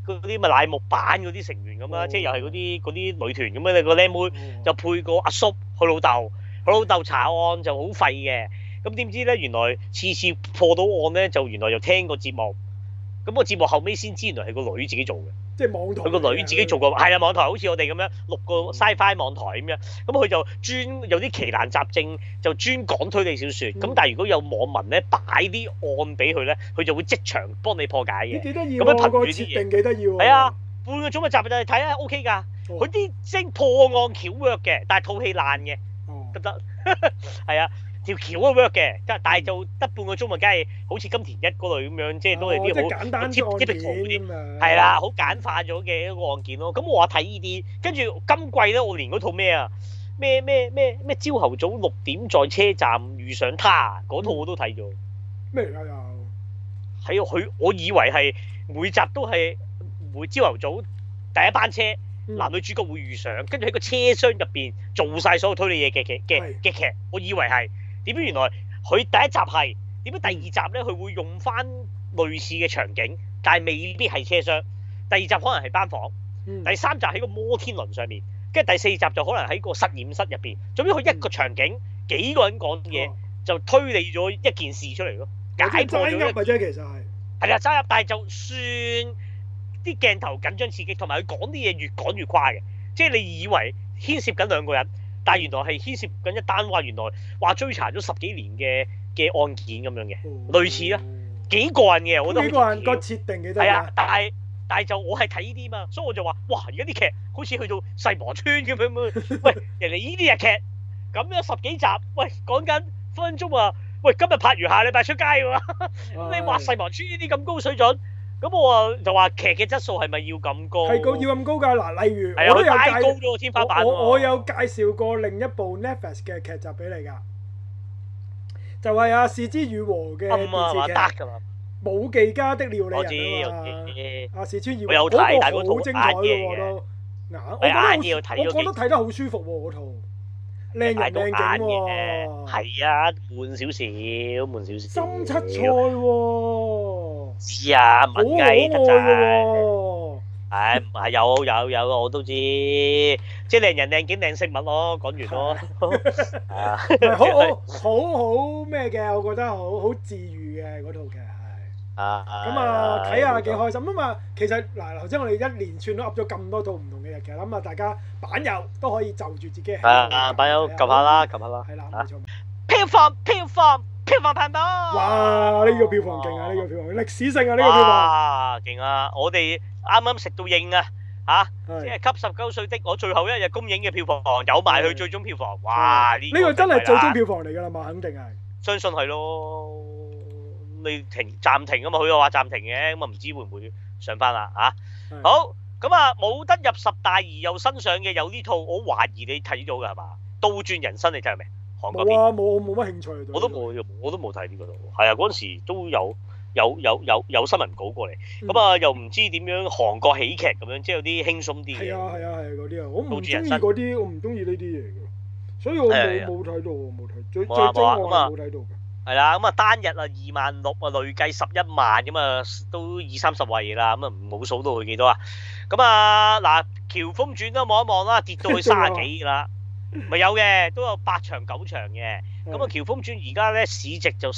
Speaker 1: 啲咪乃木坂嗰啲成員咁啦，即係又係嗰啲女團咁樣，你個靚妹就配個阿叔佢老豆，佢老豆查案就好廢嘅，咁點知咧原來次次破到案咧就原來又聽個節目，咁個節目後尾先知原來係個女自己做嘅。
Speaker 2: 即係網台，
Speaker 1: 佢個女自己做過，係啊網台好似我哋咁樣錄個 Sci-Fi 網台咁樣，咁佢就專有啲奇難雜症，就專講推理小説。咁但係如果有網民咧擺啲案俾佢咧，佢就會即場幫你破解嘅。
Speaker 2: 幾得意
Speaker 1: 咁樣憑住啲
Speaker 2: 設定幾得意喎。
Speaker 1: 係啊，半個鐘嘅集就睇下 OK 㗎。佢啲精破案橋 work 嘅，但係套戲爛嘅，得唔得？係啊。條橋都 work 嘅，但係就得半個鐘咪，梗係好似金田一嗰類咁樣，即係都係啲好
Speaker 2: 簡單案件咁樣。
Speaker 1: 係啦，好簡化咗嘅一個案件咯。咁我話睇呢啲，跟住今季咧，我連嗰套咩啊，咩朝頭早6點在車站遇上他嗰套我都睇咗。
Speaker 2: 咩嚟㗎又？
Speaker 1: 係佢，我以為係每集都係每朝頭早第一班車，男女主角會遇上，跟住喺個車廂入邊做晒所有推理嘢嘅劇，我以為係。點解原來佢第一集係點解第二集咧？佢會用翻類似嘅場景，但係未必係車廂。第二集可能係班房，第三集喺個摩天輪上面，跟住第四集就可能喺個實驗室入邊。總之佢一個場景，幾個人講嘢，就推理咗一件事出嚟咯，解破咗。
Speaker 2: 啫，其實係
Speaker 1: 啦，揸入，但係就算啲鏡頭緊張刺激，同埋佢講啲嘢越講越誇嘅，即係你以為牽涉緊兩個人。但係原來係牽涉緊一單話，原來話追查咗10幾年嘅案件咁樣嘅，類似啦，幾過癮嘅，我覺得。幾過癮個設定幾得意。係啊，但係就我係睇呢啲嘛，所以我就話：哇！而家啲劇好似去到世磨村咁樣，喂，人哋呢啲日劇咁樣10幾集，喂，講緊分分鐘啊，喂，今日拍完下禮拜出街喎，你話世磨村呢啲咁高水準？咁我啊就話劇嘅質素係咪要咁高？係要咁高㗎嗱，例如我都有介高咗個天花板。我有介紹過另一部 Netflix 嘅劇集俾你㗎，就係阿是枝裕和嘅電視劇《武技家的料理人》啊嘛。阿是枝裕和嗰個好精彩嘅喎都，我覺得睇得好舒服喎嗰套，靚人靚景喎。係啊，悶少少。深七菜喎。知啊，文藝得滯，係唔係有我都知，即係靚人靚景靚飾物咯，講完咯，係啊，好咩嘅，我覺得好治愈嘅嗰套劇係，咁啊睇下幾開心啊嘛，其實嗱頭先我哋一連串都噏咗咁多套唔同嘅日劇，咁啊大家版友都可以就住自己，版友撳下啦，係啦，冇錯，票房排行哇！呢個票房勁啊！呢個票房歷史性啊！呢個票房勁啊！我哋啱啱食到應啊嚇，即係給19歲的我最後一日公映嘅票房有埋佢最終票房，哇！呢個真係最終票房嚟㗎啦嘛，肯定係。相信係咯，你暫停啊嘛，佢又話暫停嘅，咁啊唔知會唔會上翻啦嚇？好咁啊，冇得入10大而又新上嘅有呢套，我懷疑你睇咗㗎係嘛？倒轉人生你睇未？冇啊，冇乜興趣。我都冇睇呢個度。係啊，嗰陣時都有新聞稿過嚟，咁啊又唔知點樣韓國喜劇咁樣，即係有啲輕鬆啲嘅。係啊嗰啲啊，我唔中意嗰啲，我唔中意呢啲嘢嘅，所以我冇睇到，冇睇。最終我係冇睇到嘅。係啦，咁啊單日啊26,000啊，累計11萬咁啊，都20-30位啦，咁啊冇數到佢幾多啊？咁啊嗱，《喬峰傳》都望一望啦，跌到去30幾啦。咪有嘅，都有8場9場嘅。咁啊，《喬峰傳》而家咧市值就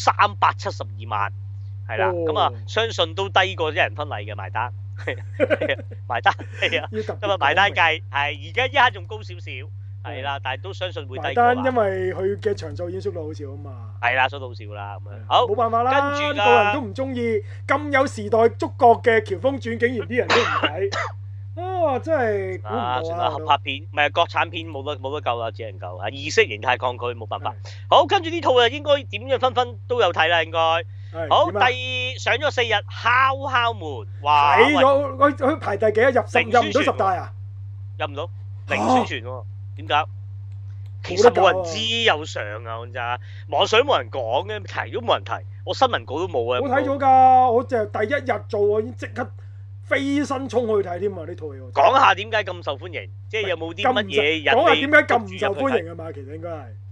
Speaker 1: 372萬，係啦。咁啊，相信都低過一人婚禮嘅埋單，埋單係啊。咁啊，埋單計係而家一刻仲高少少，係啦，但係都相信會低過。埋單因為佢嘅場數已經縮到好少啊嘛。係啦，縮到好少啦咁樣。好，冇辦法啦。跟住個人都唔中意咁有時代觸覺嘅《喬峰傳》，竟然啲人都唔睇。真係估唔到啊！算啦，合拍片唔係國產片，冇得救啦，只能夠係意識形態抗拒，冇辦法。好，跟住呢套啊，應該點樣分都有睇啦，應該。好，上咗4日，敲敲門，哇！睇咗佢排第幾啊？入唔到10大啊？入唔到，零宣傳喎，點解？其實冇人知有上啊，講真，網上冇人講嘅，提都冇人提，我新聞稿都冇啊。我睇咗㗎，我就第一日做，我已經即刻飛身衝去睇添啊！呢套嘢講下點解咁受歡迎，即係有冇啲乜嘢人？講下點解咁唔受歡迎啊嘛？其實應該係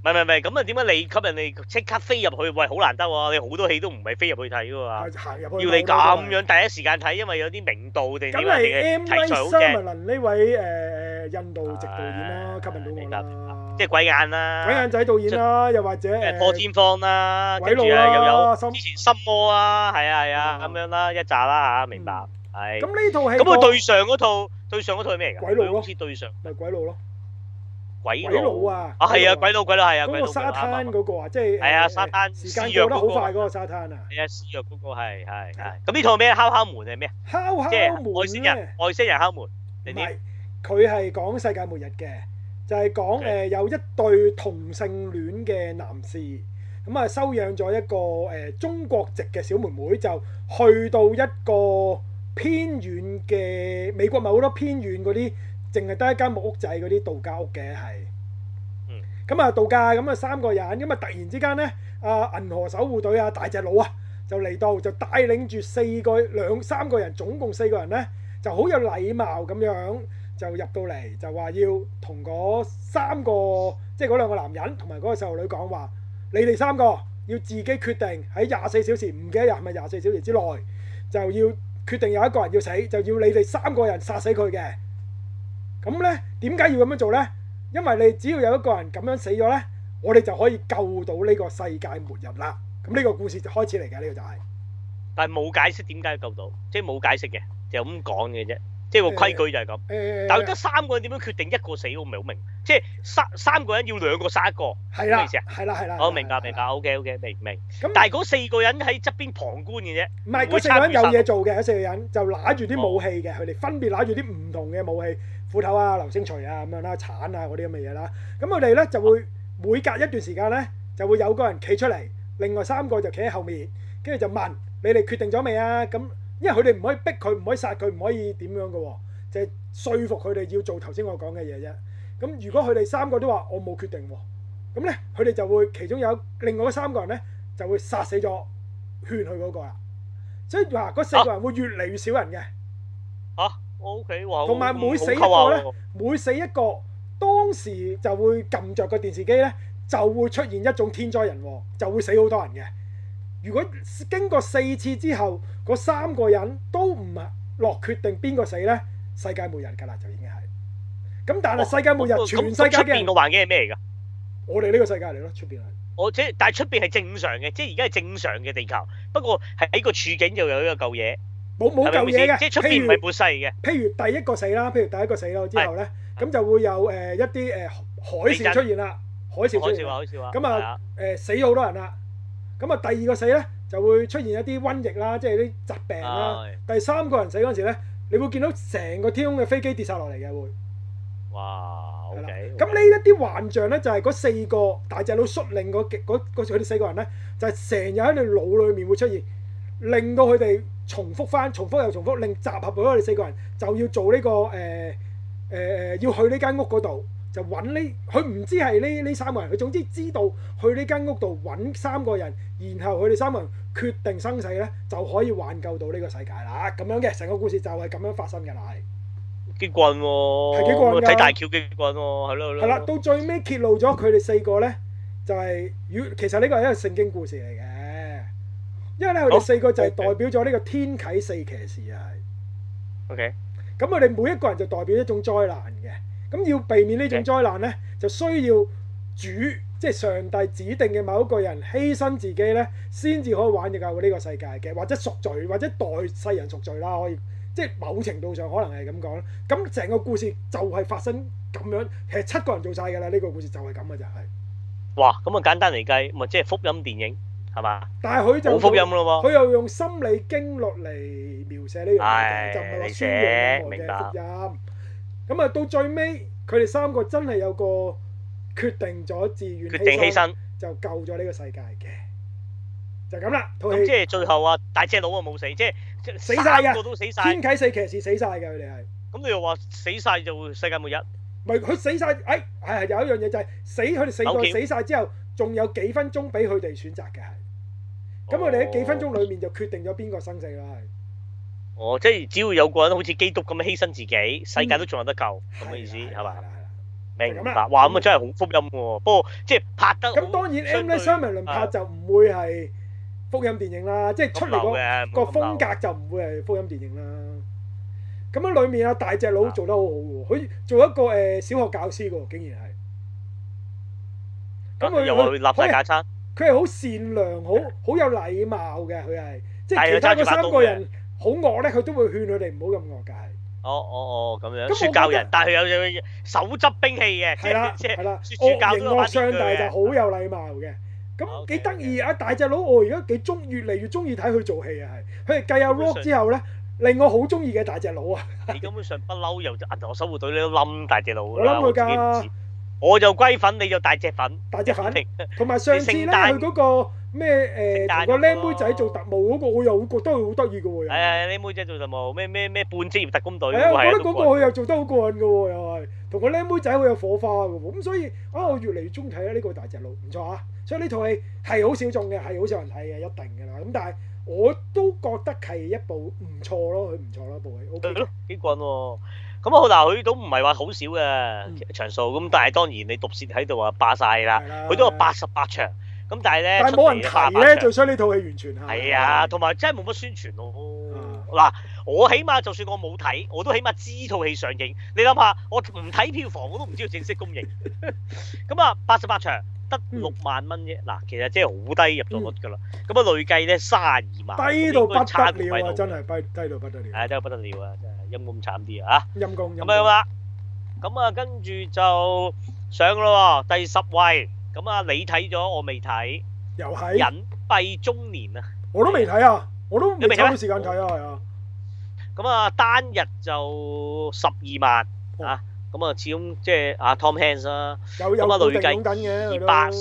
Speaker 1: 係，咁啊點解你吸引你即刻飛入去？喂，好難得喎！你好多戲都唔係飛入去睇㗎嘛，
Speaker 2: 行入去
Speaker 1: 要你咁樣第一時間睇，因為有啲明度定點啊？定係題材好正。
Speaker 2: 呢位印度籍導演啦，吸引到我啦。
Speaker 1: 即係鬼眼啦，
Speaker 2: 鬼眼仔導演啦，又或者
Speaker 1: 破天荒啦，
Speaker 2: 鬼佬
Speaker 1: 又有
Speaker 2: 之
Speaker 1: 前心魔啊，係啊咁樣啦，一紮啦嚇，明白係。
Speaker 2: 咁呢套戲
Speaker 1: 咁佢對上嗰套係咩嚟㗎？
Speaker 2: 鬼佬
Speaker 1: 好似對上
Speaker 2: 咪鬼佬咯。
Speaker 1: 鬼佬
Speaker 2: 啊！
Speaker 1: 係啊，鬼佬係啊，
Speaker 2: 嗰個沙灘嗰個啊，即係
Speaker 1: 係啊，沙灘
Speaker 2: 時間過得好快嗰個沙灘啊！
Speaker 1: 係啊，施藥嗰個係。咁呢套咩？敲敲門係咩？
Speaker 2: 敲門
Speaker 1: 外星人敲門定點？
Speaker 2: 佢係講世界末日嘅，就係講有一對同性戀嘅男士，咁啊收養咗一個中國籍嘅小妹妹，就去到一個偏遠嘅美國，咪好多偏遠嗰啲。淨係得一間木屋仔嗰啲度假屋嘅係，咁啊度假咁啊3個人，咁啊突然之間咧，銀河守護隊啊大隻佬啊就嚟到，就帶領住3個人，總共4個人咧，就好有禮貌咁樣就入到嚟，就話要同嗰3個，即係嗰2個男人同埋嗰個細路女講話，你哋3個要自己決定喺24小時，唔記得係咪24小時之內，就要決定有一個人要死，就要你哋3個人殺死佢嘅。咁咧，點解要咁樣做咧？因為你只要有一個人咁樣死咗咧，我哋就可以救到呢個世界末日啦。咁呢個故事就開始嚟嘅，呢個就係。但係冇解釋點解救到，即係冇解釋嘅，就咁講嘅啫。即係個規矩就係咁。但係得3個人點樣決定一個死，我唔係好明。即係三個人要2個殺1個，係咩意思啊？係啦。我明白。OK，明。但係嗰4個人喺側邊旁觀嘅啫。唔係，嗰4個人有嘢做嘅，嗰4個人就拿住啲武器嘅，佢哋分別拿住啲唔同嘅武器。斧頭啊、流星錘啊咁樣啦、鏟啊嗰啲咁嘅嘢啦，咁佢哋咧就會每隔一段時間咧就會有個人企出嚟，另外3個就企喺後面，跟住就問你哋決定咗未啊？咁因為佢哋唔可以逼佢，唔可以殺佢，唔可以點樣嘅喎，就係說服佢哋要做頭先我講嘅嘢啫。咁如果佢哋3個都話我冇決定喎，咁咧佢哋就會其中有另外嗰3個人咧就會殺死咗勸佢嗰個啦。所以話嗰4個人會越嚟越少人嘅。O.K. 同埋每死一個咧，每死一個，當時就會撳着個電視機咧，就會出現一種天災人禍，就會死好多人嘅。如果經過4次之後，嗰3個人都唔落決定邊個死咧，世界末日㗎啦，就已經係。咁但係世界末日，全世界嘅出邊個環境係咩嚟㗎？我哋呢個世界嚟咯，出邊係。但係出邊係正常嘅，即係而家係正常嘅地球，不過係喺個處境就有一個舊嘢。冇舊嘢嘅，即係出邊唔係末世嘅。譬如第一個死啦，之後咧，咁就會有一啲海嘯出現啦，海嘯出現。咁啊死咗好多人啦。咁啊第2個死咧就會出現一啲瘟疫啦，即係啲疾病啦。第3個人死嗰陣時咧，你會見到成個天空嘅飛機跌晒落嚟嘅會。哇！OK。咁呢一啲幻象咧，就係嗰4個大隻佬率領佢哋4個人咧，就係成日喺你腦裏面會出現，令到佢哋。重複又重複，令集合到我哋4個人就要做呢要去呢間屋嗰度，就揾佢唔知係呢3個人，佢總之知道去呢間屋度揾3個人，然後佢哋3個人決定生死咧，就可以挽救到呢個世界啦。咁樣嘅成個故事就係咁樣發生嘅啦，係。幾棍喎！係幾棍㗎？睇大橋幾棍喎，係咯。係啦，到最尾揭露咗佢哋4個咧，就係其實呢個係一個聖經故事嚟嘅。因為咧，佢哋4個就係代表咗呢個天啟4騎士啊，係。OK。咁佢哋每一個人就代表一種災難嘅，咁要避免呢種災難咧，就需要即係上帝指定嘅某一個人犧牲自己咧，先至可以挽救呢個世界嘅，或者贖罪，或者代世人贖罪啦，可以，即係某程度上可能係咁講啦。咁成個故事就係發生咁樣，其實7個人做晒㗎啦，呢個故事就係咁嘅就係。哇！咁啊簡單嚟計，咪即係福音電影。係嘛？但係佢就冇福音咯喎，佢又用心理經絡嚟描寫呢樣嘢，就唔係話宣揚任何嘅福音。咁啊，到最尾佢哋3個真係有個決定咗自願犧牲，就救咗呢個世界嘅，就咁啦。咁即係最後啊，大隻佬啊冇死，即係死晒嘅，3個都死晒。天啟4騎士死晒嘅佢哋係。咁你又話死晒就世界末日？唔係佢死晒，係有一樣嘢就係佢哋4個死晒之後，仲有幾分鐘俾佢哋選擇嘅係。咁我哋喺幾分鐘裏面就決定咗邊個生死啦，係。即係只要有個人好似基督咁樣犧牲自己，世界都仲有得救，咁嘅意思係嘛？
Speaker 1: 明白。哇，咁啊真係好福音喎。不過即係拍得
Speaker 2: 咁當然 M. Night Shyamalan 拍就唔會係福音電影啦，即係出嚟個風格就唔會係福音電影啦。咁樣裡面啊大隻佬做得好好喎，佢做一個小學教師喎，竟然係。咁佢
Speaker 1: 又去立晒架撐。
Speaker 2: 佢係好善良，好有禮貌嘅，佢係即係其他嗰3個人好惡咧，佢都會勸佢哋唔好咁惡㗎，係。
Speaker 1: 咁樣。説教人，但係佢有手執兵器嘅，
Speaker 2: 係啦，
Speaker 1: 即係
Speaker 2: 惡形惡相，但係就好有禮貌嘅。咁幾得意啊！大隻佬，我而家越嚟越中意睇佢做戲啊，係。佢係繼阿 Rock 之後咧，令我好中意嘅大隻佬啊！
Speaker 1: 你根本上不嬲由銀河守護隊你都冧大隻佬㗎
Speaker 2: 啦，我自己唔知。
Speaker 1: 我就龜粉，你就大隻粉。
Speaker 2: 大隻粉，同埋上次咧，佢嗰個咩同個僆妹仔做特務嗰個，我又覺得佢好得意嘅喎。係僆妹仔做特務，咩半職業特工隊。係啊，我覺得嗰個佢又做得好過癮嘅喎，又係同個僆妹仔好有火花嘅喎。咁所以我越嚟越中意睇呢個大隻佬，唔錯啊！所以呢套戲係好小眾嘅，係好少人睇嘅，一定㗎啦。咁但係我都覺得係一部唔錯咯，佢唔錯咯，部戲 OK 咯，幾棍喎。咁嗱，佢都唔係話好少嘅場數，咁但係當然你毒舌喺度啊霸晒啦，佢都有88場，咁但係咧，但係冇人提咧，最衰呢套戲完全係啊，同埋真係冇乜宣傳咯。嗱，我起碼就算我冇睇，我都起碼知套戲上映。你諗下，我唔睇票房，我都唔知道正式公映。咁啊，88場得6萬蚊啫。嗱，其實即係好低入座率㗎啦。咁啊，累計咧32萬，低到不得了啊！真係低到不得了。係低到不得了啊！真係。陰公慘啲啊！陰公咁樣啦，咁啊跟住就上咯喎，第10位，咁啊你睇咗我未睇，又係隱蔽中年啊！我都未睇啊，我都未抽到時間睇啊，係啊！咁啊單日就12萬啊，咁啊始終即係阿 Tom Hanks 啦，咁啊累計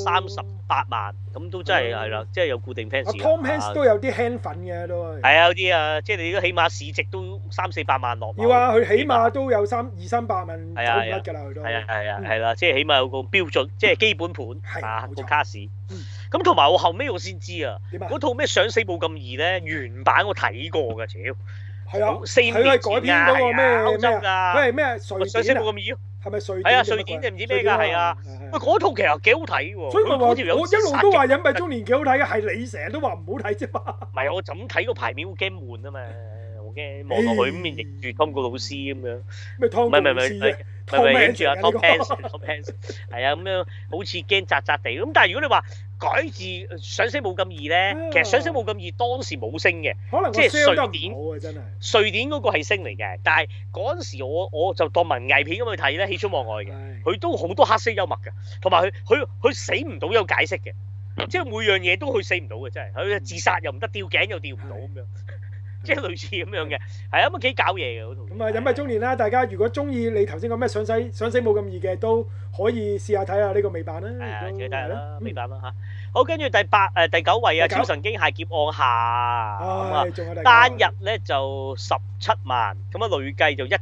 Speaker 2: 238萬，咁都真係啦，即係有固定 fans。Tom Hanks 都有啲 hand 粉嘅都係。係啊，有啲啊，即係你都起碼市值都300-400萬落。要啊，佢起碼都有200-300萬走唔甩㗎啦，佢都。係啦，即係起碼有個標準，即係基本盤啊個卡士。咁同埋我後尾我先知啊，嗰套咩想死冇咁易咧，原版我睇過㗎，屌。係啊，4年前㗎，歐洲㗎。佢係咩？想死冇咁易咯。係咪瑞典？係啊，瑞典定唔知咩㗎？係啊。喂，嗰套其實幾好睇喎。所以我話我一路都話隱蔽中年幾好睇嘅，係你成日都話唔好睇啫嘛。唔係，我就咁睇個排面好驚悶啊嘛，我驚望落去咁面認住湯告魯斯咁樣。咩湯？唔係，認住阿 Tom Hanks 係啊，咁樣好似驚扎扎地。咁但係如果你話改字上升冇咁易咧，其實上升冇咁易當時冇升嘅，即係瑞典。瑞典嗰個係升嚟嘅，但係嗰陣時我就當文藝片咁去睇咧，喜出望外嘅。佢都好多黑色幽默嘅，同埋佢死唔到有解釋嘅，即係每樣嘢都佢死唔到嘅，真係佢自殺又唔得，吊頸又吊唔到咁樣，即係類似咁樣嘅，係啊，咁幾搞嘢嘅嗰套。咁啊，隱蔽中年啦，大家如果中意你頭先講咩想死冇咁易嘅，都可以試下睇下呢個美版啦。係啊，記得啦，美版啦嚇。好，跟住第9位啊，《超神經械劫案下》咁啊，單日咧就17萬，咁啊累計就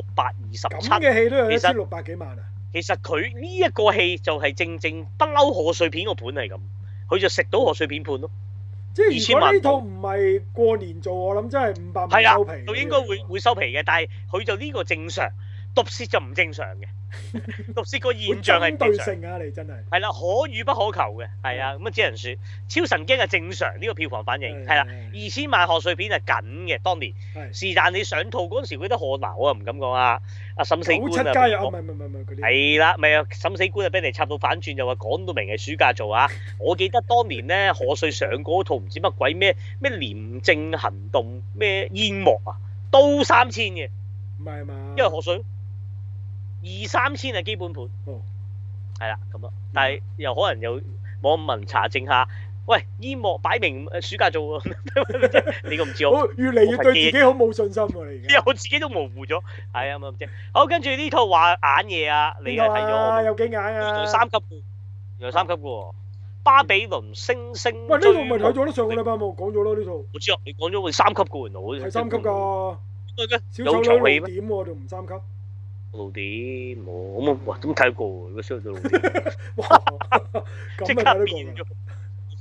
Speaker 2: 1627。咁嘅戲都有1600幾萬啊！其實佢呢一個戲就係正不嬲賀歲片個盤係咁，佢就食到賀歲片盤咯。即係如果呢套唔係過年做，我諗真係500萬收皮。係啊，就應該會收皮嘅，但係佢就呢個正常，毒舌就唔正常嘅。毒舌個現象係唔正常啊！你真係係啦，可遇不可求嘅，係啊，咁啊只能説超神經係正常呢個票房反應係啦，2000萬賀歲片係緊嘅，當年是但你上套嗰陣時，佢得賀鬧啊，唔敢講啊，阿審死官啊，唔係嗰啲係啦，咪啊審死官啊，俾人插到反轉，就話講到明係暑假做啊！我記得當年咧賀歲上嗰套唔知乜鬼咩廉政行動咩煙幕啊，都3000嘅，唔係嘛？因為賀歲。2-3千係基本盤，係啦咁咯，但係又可能有網民查證下，喂煙幕擺明暑假做喎，你個唔知我越嚟越對自己好冇信心喎，你而家我自己都模糊咗，係啊咁啫。好，跟住呢套話眼嘢啊，你係睇咗？有幾眼啊？3級嘅，有3級嘅喎。巴比倫星星喂，呢套咪睇咗咯？上個禮拜冇講咗咯呢套。我知啊，你講咗會3級嘅原來，係3級㗎。小丑女點喎？仲唔3級？露點冇哇，咁睇過喎，如果燒到露點，哇，即刻變咗露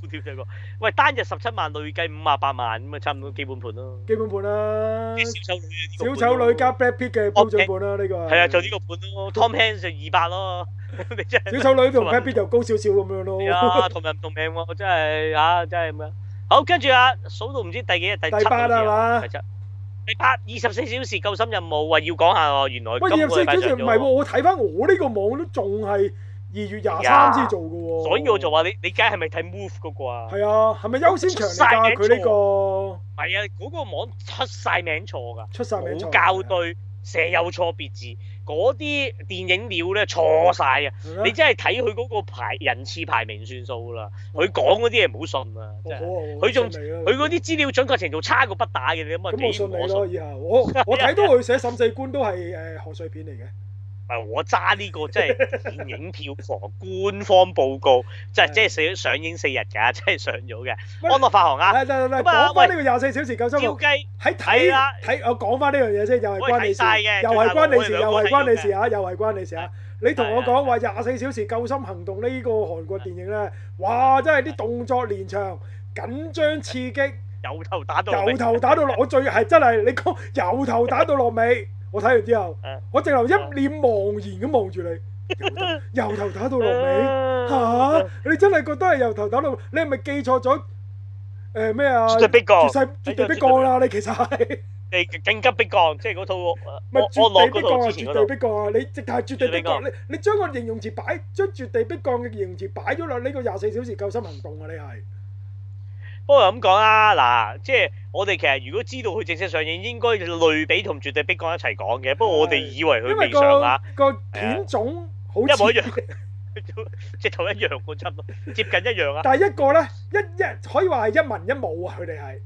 Speaker 1: 屌細個，喂單日17萬，累計58萬咁啊，差唔多基本盤咯。
Speaker 2: 基本盤啦。
Speaker 1: 小
Speaker 2: 丑女加 Brad Pitt 嘅標準盤啦，呢個
Speaker 1: 係啊，就呢個盤咯。Tom Hanks 就200咯，你真係。
Speaker 2: 小丑女同 Brad Pitt 就高少少咁樣咯。
Speaker 1: 係啊，同人唔同命喎，真係啊，真係咁樣。好，跟住啊，數到唔知第幾日，第7
Speaker 2: 係嘛？
Speaker 1: 第8 24小時救生任務話要講下喎，原來
Speaker 2: 喂24小時唔係喎，我睇翻我呢個網都仲係2月23先做嘅喎。
Speaker 1: 所以我就話你梗係咪睇 Move 嗰個啊？
Speaker 2: 係啊，係咪優先場嚟㗎？佢呢個
Speaker 1: 係啊，嗰個網出晒名錯㗎，
Speaker 2: 出晒名錯，
Speaker 1: 冇校對，成有錯別字，嗰啲電影料咧錯晒啊！你真係睇佢嗰個人次排名算數啦，佢講嗰啲嘢唔好信啊！真係，佢嗰啲資料準確程度差過不打嘅，你咁啊
Speaker 2: 咁我信你咯，以後我睇到佢寫審計官都係賀歲片嚟嘅。
Speaker 1: 我揸呢個即係電影票房官方報告，即係上映4日㗎，即係上咗嘅。安樂發行啊！
Speaker 2: 講翻呢個24小時救生務，喺睇我講翻呢樣嘢先，又係關你事，又係關你事，又係關你事啊！又係關你事啊！你同我講話24小時救生行動呢個韓國電影咧，哇！真係啲動作連場，緊張刺激，
Speaker 1: 由頭打到
Speaker 2: 落，我最係真係你講由頭打到落尾。我睇完之後，我直頭一臉茫然咁望住你，由頭打到落尾嚇！你真係覺得係由頭打到？你係咪記錯咗？咩啊？絕對逼降啦！你其實係
Speaker 1: 你緊急逼降，即係嗰套
Speaker 2: 咪絕對逼降啊！絕對逼降啊！你直頭係絕對逼降，你將個形容詞將絕對逼降嘅形容詞擺咗落呢個24小時救生行動啊！你係。
Speaker 1: 不過咁講啦，嗱，即係我哋其實如果知道佢正式上映，應該類比同絕對逼降一齊講嘅。不過我哋以為佢未上啊，
Speaker 2: 個片種好
Speaker 1: 一模一樣，直頭一樣喎，差唔多接近一樣啊。
Speaker 2: 但係一個咧，可以話係一文一武啊，佢哋係。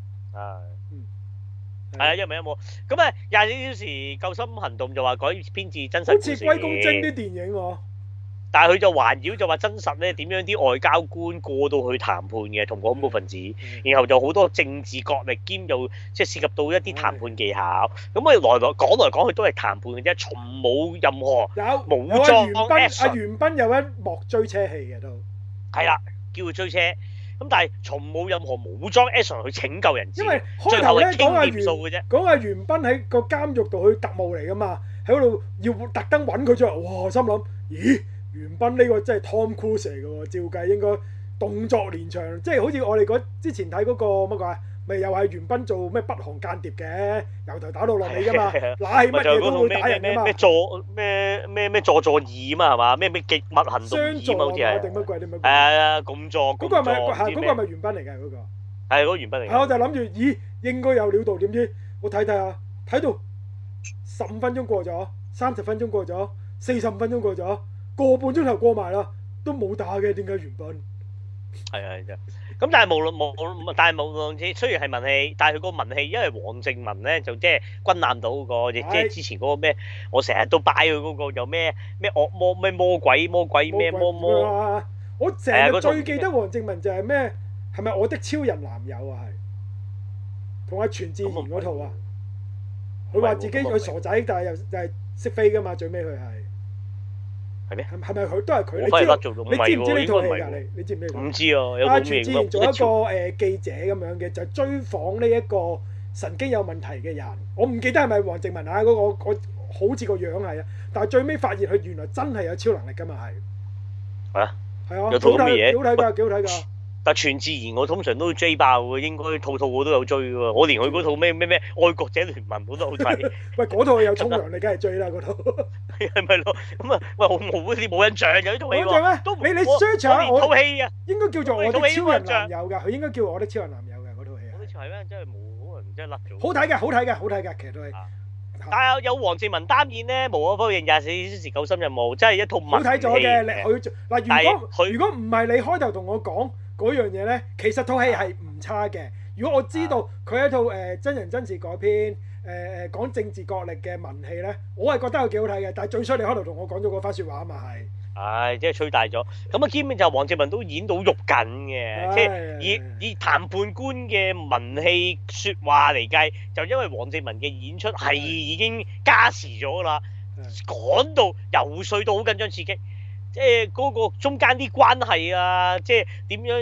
Speaker 1: 係啊，一文一武。咁啊，24小時救生行動就話改編自真實故事。
Speaker 2: 好似龜公精啲電影喎。
Speaker 1: 但係佢就環繞就話真實咧點樣啲外交官過到去談判嘅同個恐怖分子，然後就好多政治角力兼又即係涉及到一啲談判技巧。咁啊來講去都係談判嘅啫，從冇任何武裝。
Speaker 2: 阿袁彬有一幕追車戲嘅都
Speaker 1: 係啦，叫佢追車。咁但係從冇任何武裝 action 去拯救人質。
Speaker 2: 因為開頭咧講阿袁彬喺個監獄度去特務嚟㗎嘛，喺嗰度要特登揾佢出嚟，哇！心諗咦？袁彬呢個真係 Tom Cruise 嚟嘅喎，照計應該動作連場，即係好似我哋之前睇嗰個乜鬼，咪又係袁彬做咩北韓間諜嘅，由頭打到落尾㗎嘛，嗱係乜嘢都會打人㗎嘛。
Speaker 1: 咩助二啊嘛係嘛？咩極密行動二啊嘛好似係。
Speaker 2: 定乜鬼？係
Speaker 1: 啊，咁助。
Speaker 2: 嗰個係咪袁彬嚟㗎嗰個？
Speaker 1: 係嗰個袁彬嚟。
Speaker 2: 係我就諗住，咦應該有料到，點知我睇下，睇到15分鐘過咗，30分鐘過咗，45分鐘過咗。個半鐘頭過埋啦，都冇打嘅，點解袁彬？
Speaker 1: 係咁但係無論雖然係文戲，但係佢個文戲，因為黃正文咧就即係軍艦島嗰個，亦即係之前嗰個咩，我成日都擺佢嗰個又咩惡魔咩魔鬼咩魔。
Speaker 2: 我成日最記得黃正文就係咩？係咪我的超人男友啊？係同阿全智賢嗰套啊？佢話自己佢傻仔，但係又係識飛噶嘛？最尾佢係。
Speaker 1: 係咩？
Speaker 2: 係咪佢都係佢？你知唔知呢套戲㗎？你知唔知？
Speaker 1: 唔知啊！
Speaker 2: 阿全智賢做一個記者咁樣嘅，就追訪呢一個神經有問題嘅人。我唔記得係咪黃正文啊？嗰個好似個樣係啊，但係最尾發現佢原來真係有超能力㗎嘛係。啊！係啊！
Speaker 1: 有套咁嘅嘢，
Speaker 2: 幾好睇㗎，幾好睇㗎。
Speaker 1: 但全智賢我通常都追爆嘅，應該套我都有追嘅喎。我連佢嗰套咩愛國者聯盟我都好睇。
Speaker 2: 喂，嗰套有沖涼你梗係追啦嗰套。
Speaker 1: 係咪咯？咁啊，喂，我冇啲冇印象嘅呢套戲喎。
Speaker 2: 你 search 下我
Speaker 1: 套戲啊，
Speaker 2: 應該叫做我的超人男友㗎，佢應該叫我的超人男友㗎嗰套戲。
Speaker 1: 我啲係咩？真係冇可能真係甩咗。
Speaker 2: 好睇嘅，好睇嘅，其實都係。
Speaker 1: 但係有黃正文擔演咧，無可否認24小時救生任務真係一套文戲。好睇咗
Speaker 2: 嘅，嗱，如果唔係你開頭同我講嗰樣嘢咧，其實套戲係唔差嘅。如果我知道佢係一套真人真事改編，講政治角力嘅文戲咧，我係覺得佢幾好睇嘅。但係最衰你開頭同我講咗嗰番説話啊嘛係。係，即係吹大咗。咁啊，基本就黃正文都演到肉緊嘅，即係以談判官嘅文戲説話嚟計，就因為黃正文嘅演出係已經加時咗啦，講到游説到好緊張刺激，即係嗰個中間啲關係啊，即係點樣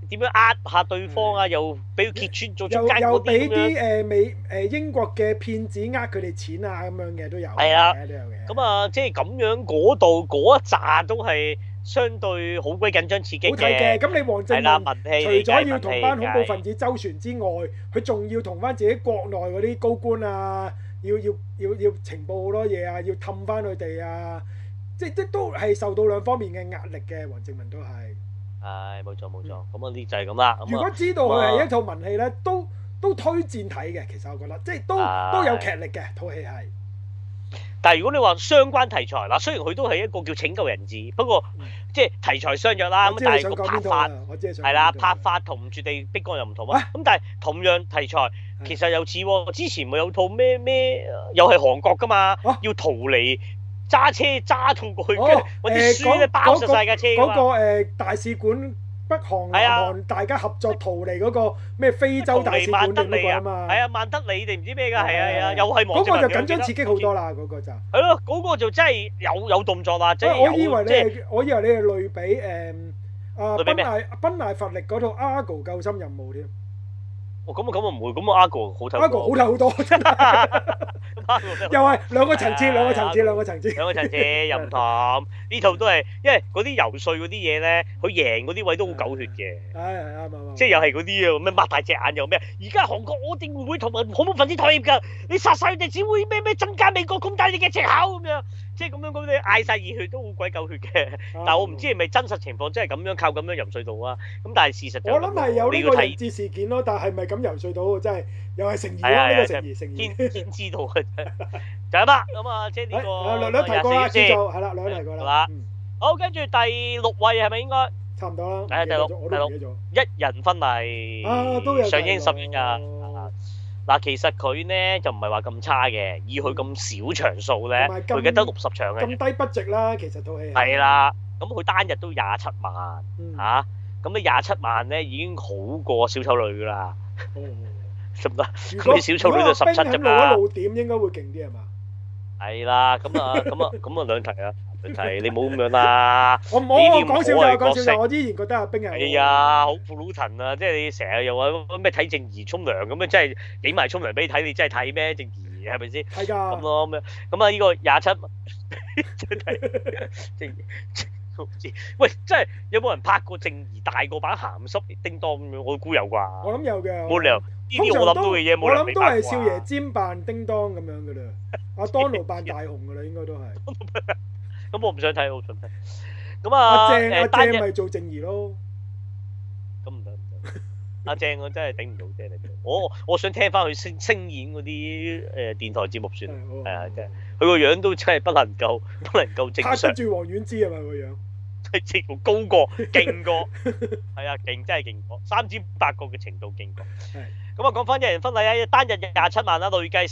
Speaker 1: 點樣呃下對方啊，又俾佢揭穿做中間
Speaker 2: 又
Speaker 1: 嗰
Speaker 2: 俾啲
Speaker 1: 啲咁樣。
Speaker 2: 英國嘅騙子呃佢哋錢啊咁樣嘅都有嘅，
Speaker 1: 係啊
Speaker 2: 都有嘅。
Speaker 1: 咁啊，即係咁樣嗰度嗰一紮都係相對好鬼緊張刺激
Speaker 2: 好睇嘅。
Speaker 1: 嘅。
Speaker 2: 咁你黃正
Speaker 1: 係啦，
Speaker 2: 文
Speaker 1: 文戲
Speaker 2: 除咗要同班恐怖
Speaker 1: 分
Speaker 2: 分子周旋之外，佢仲要同翻自己國內嗰啲高官啊，要情報好多嘢啊，要氹翻佢哋啊，即都係受到兩方面嘅壓力嘅。黃正文都係。
Speaker 1: 係冇錯冇錯，咁啊啲就係咁啦。
Speaker 2: 如果知道佢係一套文戲咧，都推薦睇嘅。其實我覺得，即係都有劇力嘅套戲係。
Speaker 1: 但係如果你話相關題材嗱，雖然佢都係一個叫拯救人質，不過即係題材相若啦。咁但係個拍法係啦，拍法同絕地迫降又唔同啊。咁但係同樣題材其實又似喎，之前咪有套咩又係韓國㗎嘛，要逃離。揸車揸到過去，跟住揾啲書咧包實曬架車㗎嘛。
Speaker 2: 嗰個大使館北韓南韓大家合作逃離嗰個咩非洲大使館定乜鬼啊嘛？
Speaker 1: 係啊，萬德里定唔知咩㗎？係啊，又係黃正文。
Speaker 2: 嗰個就緊張刺激好多啦，嗰個就。
Speaker 1: 係咯，嗰個就真係有動作啦，即係
Speaker 2: 我以為你係類比賓艾佛力嗰套《Argo 救生任務》添。
Speaker 1: 咁啊唔會，咁啊 Argo 好睇。
Speaker 2: Argo 好睇好多，真係。又係兩個層次又唔同。呢套都係，因為嗰啲游説嗰啲嘢咧，佢贏嗰啲位都好狗血嘅。 係啱。
Speaker 1: 即係又係嗰啲啊，咩擘大隻眼又咩？而家韓國我哋會唔會同埋恐怖分子妥協㗎？你殺晒佢哋，只會咩增加美國咁大嘅藉口咁樣。即係咁樣嗰啲嗌晒熱血都好鬼狗血嘅。但係我唔知係咪真實情況，真係咁樣靠咁樣游説到啊？咁但係事實就
Speaker 2: 我諗係有呢個人質事件咯，但係咪咁游説到？真係又係誠意咯，呢個誠意。
Speaker 1: 天知道嘅就係啦。咁啊，即係呢個
Speaker 2: 兩提過啦，叫做係啦，兩提過啦。
Speaker 1: 好，跟住第六位係咪應該？
Speaker 2: 差唔多啦。
Speaker 1: 係第六，一人婚禮
Speaker 2: 都有
Speaker 1: 上映10月㗎。嗱，其實佢呢就唔係話咁差嘅，以佢咁少場數咧，佢記得60場嘅。
Speaker 2: 咁低budget啦，其實套戲。
Speaker 1: 係啦，咁佢單日都27萬嚇，咁你27萬咧已經好過小丑女㗎啦。得唔得？咁你小丑女就17啫嘛。
Speaker 2: 露一露點應該會勁啲係嘛？
Speaker 1: 係啦，咁啊兩題啊，兩題你冇咁樣啦。
Speaker 2: 我講笑就，我依然覺得阿冰係。
Speaker 1: 係啊，好苦魯騰啊！即係你成日又話咩睇正義沖涼咁樣，真係影埋沖涼俾你睇，你真係睇咩正義係咪先？
Speaker 2: 係㗎。
Speaker 1: 咁咯咁樣，咁啊呢個27真係正義。喂，真係有冇人拍過正義大過版鹹濕叮當咁樣？我估有啩。
Speaker 2: 我諗有嘅。
Speaker 1: 冇理由呢啲我諗到嘅嘢冇理由未拍過。
Speaker 2: 我諗都係少爺尖扮叮當咁樣㗎啦，阿當奴扮大雄㗎啦，應該都係。
Speaker 1: 咁我唔想睇，我唔想睇。咁
Speaker 2: 阿正咪做正義咯。
Speaker 1: 咁唔得。阿正我真係頂唔到啫，我想聽翻佢聲演嗰啲電台節目算。係啊，真係佢個樣都真係不能夠正常。
Speaker 2: 拍得住黃婉之係咪個樣？
Speaker 1: 係直頭高過，勁過。係啊，勁真係勁過，3至8個嘅程度勁過。咁啊，講翻一人婚禮啊，單日27萬啦，累計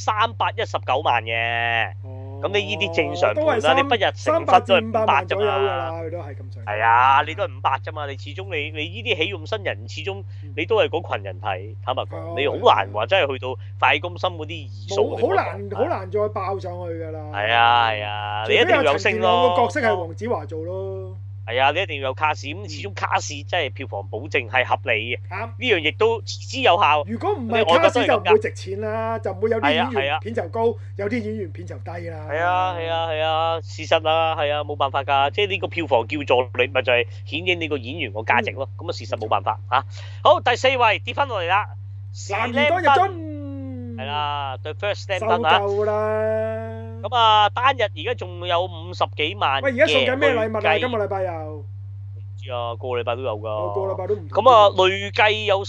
Speaker 1: 319萬嘅。咁你呢啲正常盤啦，你不日成婚都係500啫嘛。
Speaker 2: 佢都係咁上下。
Speaker 1: 係啊，你都係500啫嘛，你始終你呢啲喜用新人，始終你都係嗰群人睇。坦白講，你好難話真係去到快攻心嗰啲二數。
Speaker 2: 好難再爆上去㗎啦。
Speaker 1: 係啊，你一定要有星咯。
Speaker 2: 個角色係黃子華做咯。
Speaker 1: 係啊，你一定要有卡士，咁始終卡士真係票房保證係合理嘅。啱，呢樣亦都持之有效。
Speaker 2: 如果唔係卡士就唔會值錢啦，就唔會有啲演員片酬高，有啲演員片酬低啦。
Speaker 1: 係啊，事實啊，係啊，冇辦法㗎，即係呢個票房叫座你咪就係顯映你個演員個價值咯。咁啊事實冇辦法嚇。好，第4位跌翻落嚟啦，
Speaker 2: 男兒當入樽。
Speaker 1: 係啦，The First Slam Dunk 啊。
Speaker 2: 收夠啦。
Speaker 1: 咁啊，單日而家仲有50幾萬嘅。
Speaker 2: 喂，而家送緊咩禮物啊？今個禮拜又唔
Speaker 1: 知啊，個禮拜都有㗎。
Speaker 2: 個禮拜都唔。
Speaker 1: 咁啊，累計有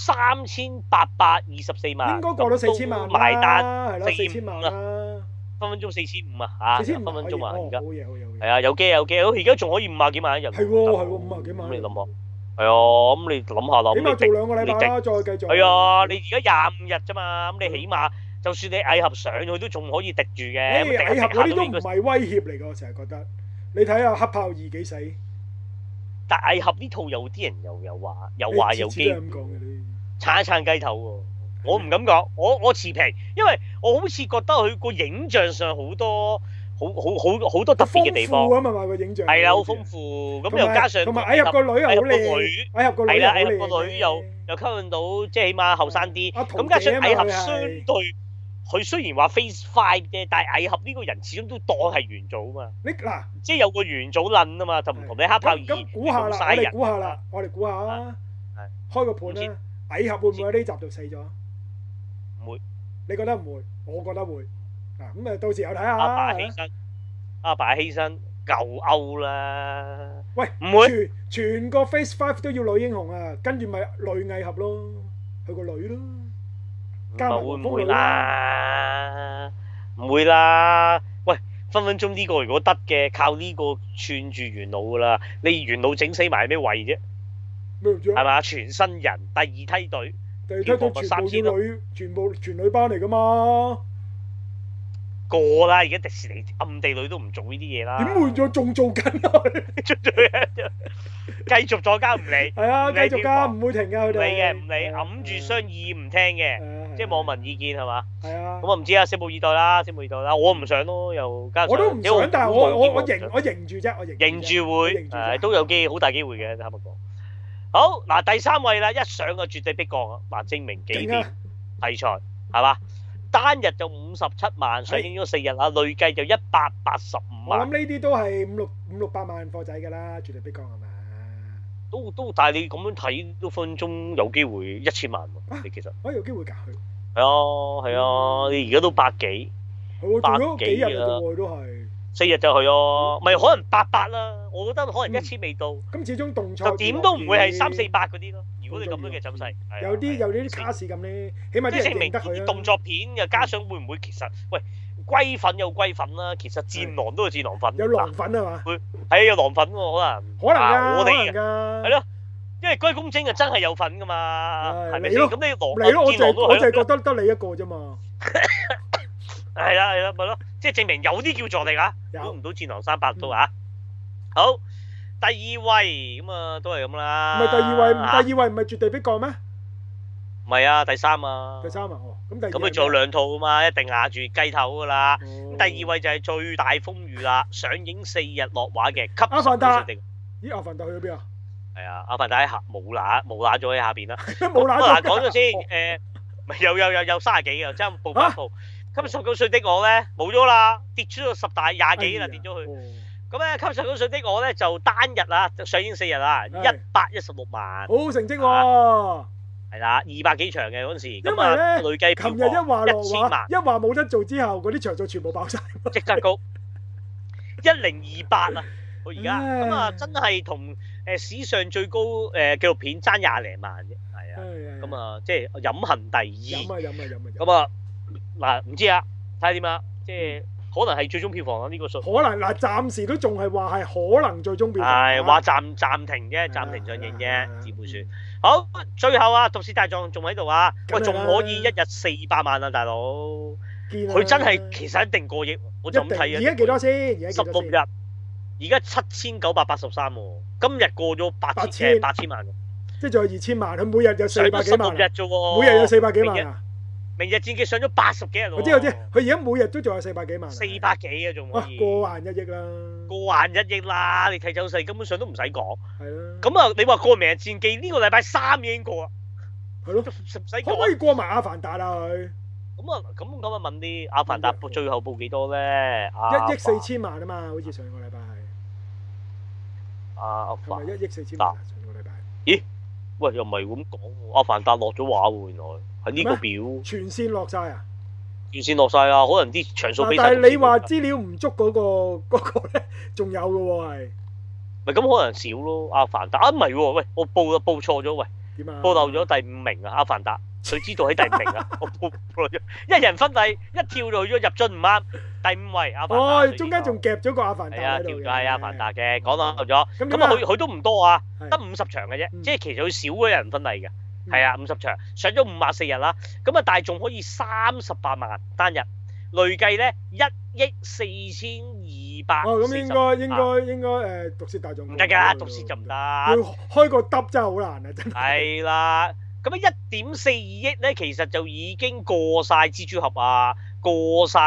Speaker 1: 3824萬。
Speaker 2: 應該過到4000萬啦。
Speaker 1: 埋單
Speaker 2: 係咯，4000萬啦。
Speaker 1: 分分鐘4500啊嚇，分分鐘啊而家。
Speaker 2: 好嘢好嘢。
Speaker 1: 係啊，有機，而家仲可以50幾萬一日。
Speaker 2: 係喎，50幾萬。
Speaker 1: 咁你諗下。係啊，咁你諗下啦。
Speaker 2: 起碼做2個禮拜啦，再繼續。
Speaker 1: 係啊，你而家25日啫嘛，咁你起碼。就算你蟻俠上去都仲可以敵住嘅，
Speaker 2: 蟻俠嗰啲都唔係威脅嚟㗎，我成日覺得。你睇下黑豹2幾死？
Speaker 1: 但蟻俠呢套有啲人又話有機，撐一撐雞頭喎。我唔敢講，我持平，因為我好似覺得佢個影像上好多好多特別嘅地方。
Speaker 2: 豐富啊嘛個影像。
Speaker 1: 係啦，好豐富。咁又加上
Speaker 2: 同埋蟻俠個女又好靚，蟻俠個女
Speaker 1: 係啦，蟻俠個女又吸引到，即係起碼後生啲。咁加上蟻俠相對，佢雖然話 Phase 5啫，但係蟻俠呢個人始終都當係元祖啊嘛。
Speaker 2: 你嗱，
Speaker 1: 即係有個元祖撚啊嘛，就唔同你黑豹二
Speaker 2: 咁估下啦，我哋估下啊，開個盤啦，蟻俠會唔會喺呢集度死咗？
Speaker 1: 唔會。
Speaker 2: 你覺得唔會？我覺得會。嗱咁啊，到時候睇下。
Speaker 1: 阿爸犧牲舊歐啦。
Speaker 2: 喂，唔會。全個 Phase 5都要女英雄啊，跟住咪女蟻俠咯，佢個女咯。
Speaker 1: 加埋會唔會啦？唔會啦。喂，分分鐘呢個如果得嘅，靠呢個串住元老噶啦。你元老整死埋咩位啫？係嘛？全新人，第二梯隊。第二梯隊
Speaker 2: 全部女班嚟噶嘛？
Speaker 1: 過啦，而家迪士尼暗地裏都唔做呢啲嘢啦。
Speaker 2: 點會仲做緊啊？
Speaker 1: 繼續再加唔理。
Speaker 2: 係啊，繼續加唔會停㗎，佢哋。
Speaker 1: 唔理，揞住雙耳唔聽嘅，即係網民意見係嘛？
Speaker 2: 係啊。
Speaker 1: 咁我唔知啊，拭目以待啦，拭目以待啦。我唔想咯，又加上。
Speaker 2: 我都唔想，但係我認住啫，我
Speaker 1: 認住會，都有好大機會嘅，坦白講。好嗱，第3位啦，一上就絕對逼降啊！嗱，證明幾點題材係嘛？單日就57萬，上映咗4日啦，累計就185萬。
Speaker 2: 我諗呢啲都係五六百萬貨仔㗎啦，絕對逼降係嘛？
Speaker 1: 都，但係你咁樣睇都分鐘有機會1000萬喎。你其實
Speaker 2: 有機會㗎佢。
Speaker 1: 係啊，你而家都百幾，
Speaker 2: 百幾日啊都係。
Speaker 1: 4日就去咯，咪可能800啦。我覺得可能1000未到。咁
Speaker 2: 始終動作
Speaker 1: 就點都唔會係300-400嗰啲咯。如果你咁樣嘅走勢，
Speaker 2: 有啲卡士咁咧，起碼啲人認得佢啦。
Speaker 1: 動作片又加上會唔會其實喂龜粉有龜粉啦，其實戰狼都有戰狼粉。
Speaker 2: 有狼粉係嘛？
Speaker 1: 係有狼粉喎，可能
Speaker 2: 㗎，
Speaker 1: 我哋
Speaker 2: 㗎。
Speaker 1: 係咯，因為龜公精啊真係有份㗎嘛，係咪先？咁你
Speaker 2: 我就係覺得得你一個啫嘛。
Speaker 1: 係啦，咪咯，即係證明有啲叫助力啊，估唔到戰狼300都啊。好，第2位咁啊，都係咁啦。
Speaker 2: 唔係第二位唔係絕對逼降咩？
Speaker 1: 唔係啊，第3啊。
Speaker 2: 第3啊，咁
Speaker 1: 佢做2套啊嘛，一定壓住雞頭噶啦。咁第2位就係最大風雨啦，上映4日落畫嘅《吸血鬼定》。
Speaker 2: 咦，阿凡達去咗邊啊？
Speaker 1: 係啊，阿凡達喺下冇乸咗喺下邊啦。
Speaker 2: 冇乸咗。
Speaker 1: 講咗先，咪有30幾嘅，即係報翻鋪。19歲的我咧冇咗啦，跌出咗10大20幾啦，跌咗去。咁咧19歲的我咧就單日啊上映4日啦，116萬。
Speaker 2: 好成績喎！
Speaker 1: 係啦，200幾場嘅嗰陣時。
Speaker 2: 因為咧，
Speaker 1: 累計
Speaker 2: 琴日一話落畫，一話冇得做之後，嗰啲場數全部爆晒，
Speaker 1: 即刻高1028啊！我而家咁啊，真係同史上最高紀錄片爭20零萬啫，係啊。咁啊，即係飲恨第2。
Speaker 2: 飲。
Speaker 1: 咁啊。嗱，唔知啊，睇下點啊，即係可能係最終票房啦呢個數。
Speaker 2: 可能嗱，暫時都仲係話係可能最終票房。
Speaker 1: 係話暫停啫，暫停上映啫，只會算。好，最後啊，《毒舌大狀》仲喺度啊，喂，仲可以1日400萬啊，大佬。佢真係其實一定過億，我就咁睇啊。
Speaker 2: 而家幾多先
Speaker 1: ？16日，而家7983喎，今日過咗8000萬。
Speaker 2: 即係仲有2000萬，佢每日有400幾萬。
Speaker 1: 16日啫喎。
Speaker 2: 每日有400幾萬啊！
Speaker 1: 明日戰記上咗80幾日喎，
Speaker 2: 我知，佢而家每日都仲有400幾萬
Speaker 1: ，400幾啊，仲可以
Speaker 2: 過萬1億啦，
Speaker 1: 過萬1億啦，你睇走勢根本上都唔使講，
Speaker 2: 係啦。
Speaker 1: 咁啊，你話過明日戰記呢個禮拜3已經過啦，
Speaker 2: 係咯，
Speaker 1: 唔使講。
Speaker 2: 可唔可以過埋阿凡達啊佢？
Speaker 1: 咁啊問啲阿凡達最後報幾多咧
Speaker 2: ？1億4千萬啊嘛，好似上個禮拜係。
Speaker 1: 阿凡
Speaker 2: 達1億4千萬上個禮拜。
Speaker 1: 咦？喂，又唔係咁講喎，阿凡達落咗畫喎，原來。喺呢個表
Speaker 2: 全線落晒啊！
Speaker 1: 全線落晒啊！可能啲場數比晒。
Speaker 2: 但係你話資料唔足嗰個咧，仲有嘅喎係。
Speaker 1: 咪咁可能少咯？阿凡達唔係喎，喂，我報錯咗，喂，
Speaker 2: 點啊？
Speaker 1: 報漏咗第5名啊！阿凡達，佢知道喺第5名啊！我報錯咗，一人分第一跳就去咗入樽唔啱，第5位阿凡達。
Speaker 2: 哦，中間仲夾咗個阿凡達喺度嘅。
Speaker 1: 係啊，跳咗係阿凡達嘅，講漏咗。咁啊，佢都唔多啊，得50場嘅啫，即係其實佢少嗰人分例嘅。係啊，50場上咗54日啦，咁啊，但係仲可以38萬單日，累計咧1億4200。
Speaker 2: 哦，咁應該毒舌大狀
Speaker 1: 唔得㗎，毒舌就唔得。
Speaker 2: 要開個得真係好難啊，真係。
Speaker 1: 係啦，咁啊1.42億咧，其實就已經過晒蜘蛛俠啊、 過晒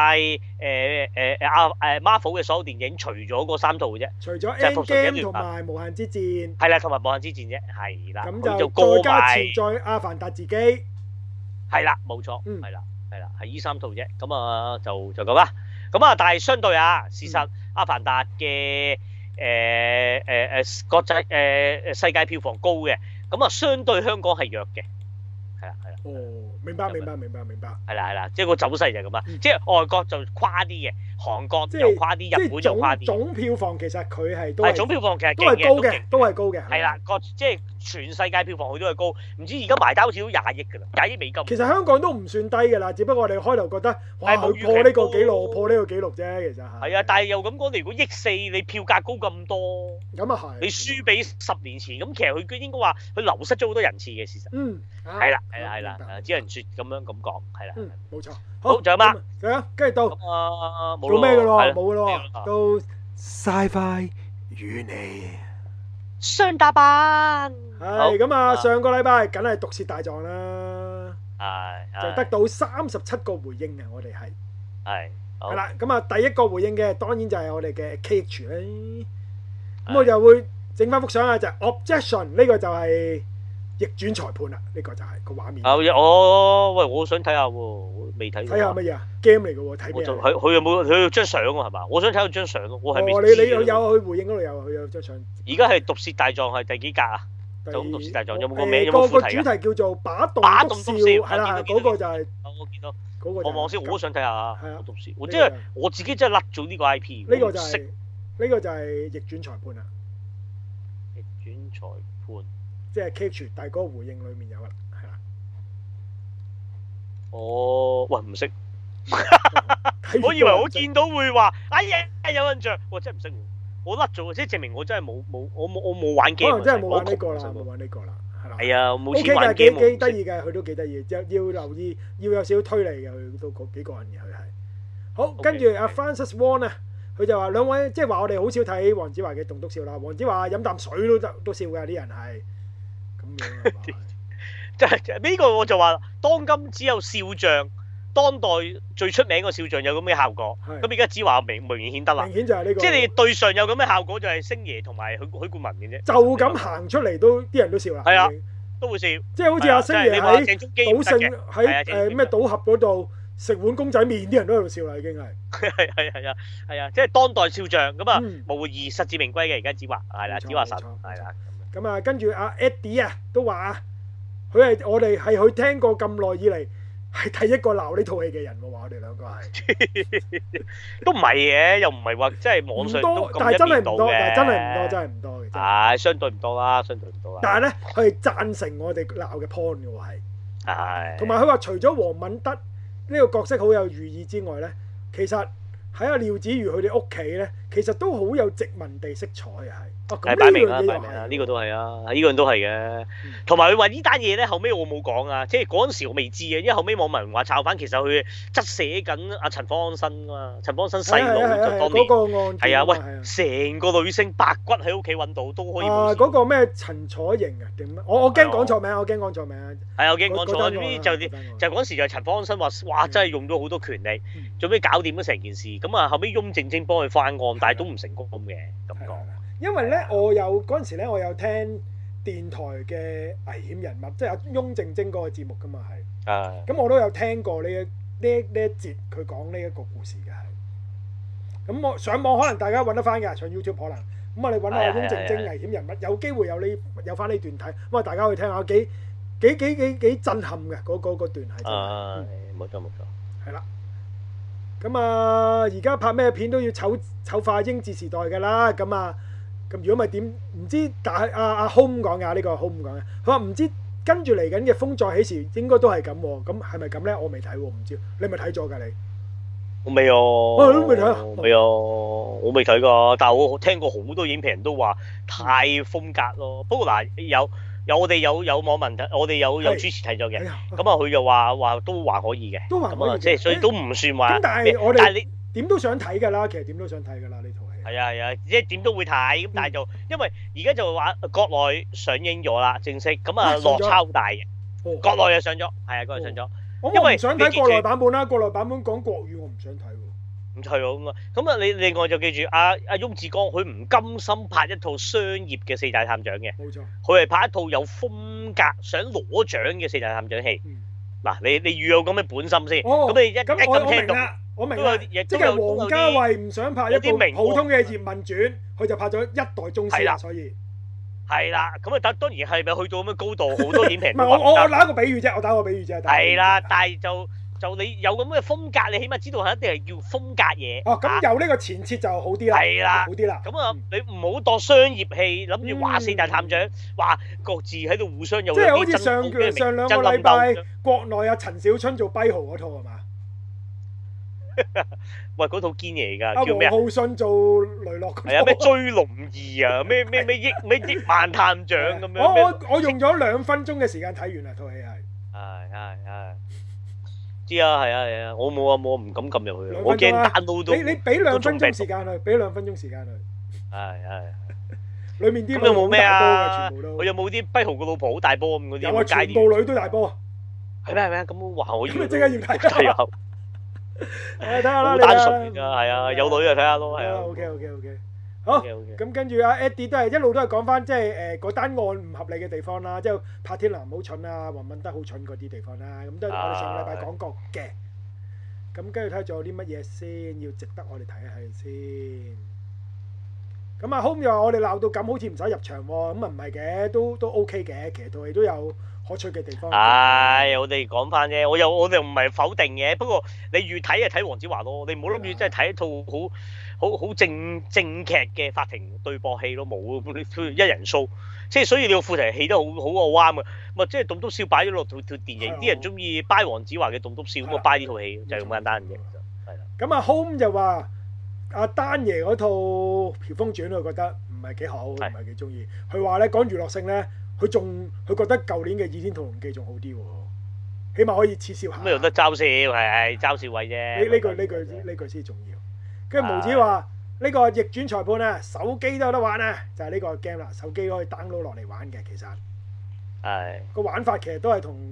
Speaker 1: Marvel 嘅所有電影，除咗嗰3套嘅啫。
Speaker 2: 除咗
Speaker 1: 就係復仇者
Speaker 2: Endgame
Speaker 1: 聯盟
Speaker 2: 同埋無限之戰。
Speaker 1: 係啦，同埋無限之戰啫，係啦。
Speaker 2: 咁就
Speaker 1: 過
Speaker 2: 再加
Speaker 1: 埋
Speaker 2: 潛在阿凡達自己。
Speaker 1: 係啦，冇錯，係啦，係依3套啫。咁啊就咁啦。咁啊，但係相對啊，事實阿凡達嘅國際世界票房高嘅，咁啊相對香港係弱嘅，係啦。
Speaker 2: 哦，明白。
Speaker 1: 係啦，即係個走勢就係咁啊，即係外國就誇啲嘅，韓國又誇啲，日本又誇啲。
Speaker 2: 總票房其實佢係都係
Speaker 1: 總票房其實
Speaker 2: 都係高嘅，都係高嘅。
Speaker 1: 係啦，即係全世界票房佢都係高，唔知而家埋單好似都20億㗎啦，20億美金。
Speaker 2: 其實香港都唔算低㗎啦，只不過我哋開頭覺得哇佢破呢個紀錄，啫，其實係。
Speaker 1: 係啊，但係又咁講，你如果億4，你票價高咁多，
Speaker 2: 咁啊係。你
Speaker 1: 輸俾10年前，咁其實佢應該話佢流失咗好多人次嘅事實。係啦，只能説咁講，係啦。
Speaker 2: 冇錯。
Speaker 1: 好，仲有嗎？
Speaker 2: 係啊，跟住到
Speaker 1: 冇
Speaker 2: 咩㗎咯？冇㗎咯，到 Sci-Fi 與你
Speaker 1: 雙打版。
Speaker 2: 係咁啊！上個禮拜梗係毒舌大狀啦，就得到37個回應嘅，我哋係啦。咁啊，第一個回應嘅當然就係我哋嘅 KH 啦。咁我就會整翻幅相啊，就係 Objection 呢個就係逆轉裁判啦，呢個就係個畫面。
Speaker 1: 喂，我想睇下喎，未睇。睇
Speaker 2: 下乜嘢啊？game 嚟嘅喎，睇咩？
Speaker 1: 佢有冇佢有張相喎？係嘛？我想睇佢張相咯，我係未。
Speaker 2: 你有去回應嗰度有，佢有張相。
Speaker 1: 而家係毒舌大狀係第幾格啊？就毒舌大狀有冇個名？有
Speaker 2: 冇
Speaker 1: 副題？
Speaker 2: 個主題叫做把動篤笑，係啦，嗰個就係。
Speaker 1: 我見到。
Speaker 2: 我
Speaker 1: 望先，我都想睇下啊。
Speaker 2: 係啊，
Speaker 1: 毒舌，即係我自己真係甩咗呢個 IP。
Speaker 2: 呢個就係逆轉裁判啦。
Speaker 1: 逆轉裁判。
Speaker 2: 即係 Catch，但係嗰個回應裡面有啦，係啦。
Speaker 1: 喂，唔識。我以為我見到會話，哎呀，有印象，我真係唔識喎，我甩咗，即係證明我真係我冇玩 game。
Speaker 2: 可能真係冇玩呢個啦，係啦。
Speaker 1: 係啊，冇錢
Speaker 2: OK
Speaker 1: 玩
Speaker 2: game。幾得意嘅，佢都幾得意，要留意，要有少少推理嘅，佢都幾過癮嘅，佢係。好，跟住阿 Francis Wong 啊，佢就話兩位，即係話我哋好少睇黃子華嘅棟篤笑啦。黃子華飲啖水都笑㗎，啲人係咁樣。
Speaker 1: 即係呢個我就話，當今只有笑匠，當代最出名個笑匠有咁嘅效果。咁而家子華明顯得啦。
Speaker 2: 明顯就係呢個。
Speaker 1: 即係你對上有咁嘅效果，就係星爺同埋許冠文嘅啫。
Speaker 2: 就咁行出嚟都啲人都笑啦。
Speaker 1: 係啊，都會笑。
Speaker 2: 即係好似阿星爺喺賭聖喺咩賭俠嗰度食碗公仔麵，啲人都喺度笑啦，已經係。
Speaker 1: 係啊，即係當代笑匠咁啊，無疑實至名歸嘅。而家子華係啦，子華神係啦。
Speaker 2: 咁啊，跟住阿 Eddie 啊都話佢係我哋係佢聽過咁耐以嚟係第一個鬧呢套戲嘅人喎，話我哋兩個係
Speaker 1: 都唔係嘅，又唔係話即係網上都咁一面倒嘅，
Speaker 2: 但係真係唔多嘅。
Speaker 1: 係相對唔多啦，
Speaker 2: 但係咧，佢係贊成我哋鬧嘅 point 嘅喎，係。同埋佢話除咗黃敏德呢個角色好有寓意之外咧，其實喺阿廖子妤佢哋屋企咧，其實都好有殖民地色彩嘅係。
Speaker 1: 擺明啦，呢個都係啊，呢個人都係嘅。同埋佢話呢單嘢咧，後尾我冇講啊，即係嗰陣時我未知嘅，因為後尾網民話抄翻，其實佢側寫緊阿陳方安生啊嘛，陳方安生細佬就當年係啊，喂，成個女星白骨喺屋企揾到都可以。
Speaker 2: 嗰個咩陳楚瑩啊定咩？我驚講錯名，係我驚講錯。
Speaker 1: 就嗰陣時就陳方安生話，哇，真係用咗好多權力，做咩搞掂咗成件事？咁啊後尾翁靜晶幫佢翻案，但係都唔成功嘅咁講。
Speaker 2: 因為咧，嗰陣時咧，我有聽電台嘅危險人物，即係阿翁靜晶嗰個節目噶嘛，係。咁我都有聽過呢一節佢講呢一個故事嘅係。咁我上網可能大家揾得翻㗎，上 YouTube 可能。咁我哋揾下翁靜晶危險人物，有機會有翻呢段睇，咁啊大家去聽下，幾震撼嘅嗰段係真係。
Speaker 1: 冇錯。
Speaker 2: 係啦。咁啊，而家拍咩片都要醜化英治時代㗎啦，咁啊。咁如果咪點唔知？但係阿 Home 講嘅呢個 Home 講嘅，佢話唔知跟住嚟緊嘅風再起時應該都係咁喎。咁係咪咁咧？我未睇喎，唔知你咪睇咗㗎你？
Speaker 1: 我未啊，
Speaker 2: 我都未睇啊，
Speaker 1: 未啊，我未睇㗎。但係我聽過好多影評人都話太風格咯。不過嗱，有我哋有網民睇，我哋有主持睇咗嘅。咁啊，佢就話都還可以嘅。都還可以嘅，即係所以都唔算話。
Speaker 2: 咁但係你點都想睇㗎啦，其實點都想睇㗎啦呢套戲。
Speaker 1: 係啊，即係點都會睇咁，但係就因為而家就話國內上映咗啦，正式咁啊落差好大嘅。國內又上咗，係啊，國內上咗。
Speaker 2: 我唔想睇國內版本啦，國內版本講國語我唔想睇喎。
Speaker 1: 唔係喎，咁啊你另外就記住阿翁志剛，佢唔甘心拍一套商業嘅四大探長嘅，
Speaker 2: 冇錯，
Speaker 1: 佢係拍一套有風格、想攞獎嘅四大探長戲。嗱，你預有咁嘅本心先，咁你一咁聽到，
Speaker 2: 我明啦，即係王家衛唔想拍一部普通嘅葉問傳，佢就拍咗一代宗師啦，所以
Speaker 1: 係啦，咁啊當然係咪去到咁嘅高度，好多影評
Speaker 2: 唔係我打個比喻啫，係
Speaker 1: 啦，但係就你有咁嘅風格，你起碼知道係一定係叫風格嘢。
Speaker 2: 哦，咁有呢個前設就好啲啦。
Speaker 1: 係啦，
Speaker 2: 好啲啦。
Speaker 1: 咁啊，你唔好當商業戲，諗住話四大探長，話各自喺度互相有啲
Speaker 2: 即係好似上兩個禮拜國內阿陳小春做跛豪嗰套係嘛？
Speaker 1: 喂，嗰套堅嘢㗎，叫咩啊？
Speaker 2: 王浩信做雷洛。
Speaker 1: 係啊，咩追龍二啊，咩億萬探長咁樣。
Speaker 2: 我用咗2分鐘嘅時間睇完啦，套戲係。
Speaker 1: 係。知啊，係啊，我冇唔敢撳入去，我驚 download 到。
Speaker 2: 你俾2分鐘時間佢，俾2分鐘時間佢。
Speaker 1: 係。
Speaker 2: 裏面啲
Speaker 1: 咁有冇咩啊？
Speaker 2: 全部都。
Speaker 1: 我有冇啲跛豪個老婆好大波咁嗰啲？
Speaker 2: 有啊，全部女都大波。
Speaker 1: 係咩？咁話我要。
Speaker 2: 咁你即刻要睇。
Speaker 1: 係啊。
Speaker 2: 睇下啦，
Speaker 1: 好單純㗎，係啊，有女就睇下咯，係啊。
Speaker 2: OK。好，咁跟住阿 Eddie 都係一路都係講翻，即係嗰單案唔合理嘅地方啦，即係柏天男好蠢啊，黃敏德好蠢嗰啲地方啦，咁都係我哋上個禮拜講過嘅。咁跟住睇下仲有啲乜嘢先，要值得我哋睇下先。咁啊 Home 又話我哋鬧到咁，好似唔使入場喎，咁啊唔係嘅，都 OK 嘅，其實套戲都有可取嘅地方。
Speaker 1: 我哋講翻啫，我哋唔係否定嘅，不過你越睇就睇黃子華咯，你唔好諗住真係睇一套好正劇嘅法庭對駁戲咯，冇一人 show， 即係所以你個副題戲得好啱嘅，咪即係棟篤笑擺咗落套電影，啲人中意 buy 黃子華嘅棟篤笑，咁啊 buy 呢套戲就係咁簡單嘅，係啦。
Speaker 2: 咁啊 Home 就話阿丹爺嗰套《喬峰傳》，佢覺得唔係幾好，唔係幾中意。佢話咧講娛樂性咧，佢覺得舊年嘅《倚天屠龍記》仲好啲喎，起碼可以恥笑下。
Speaker 1: 咁有得嘲笑係嘲笑位啫。
Speaker 2: 呢句先重要。跟住毛子話呢個逆轉裁判啊，手機都有得玩啊，就係呢個 game 啦，手機可以 download 落嚟玩嘅，其實係個玩法其實都係同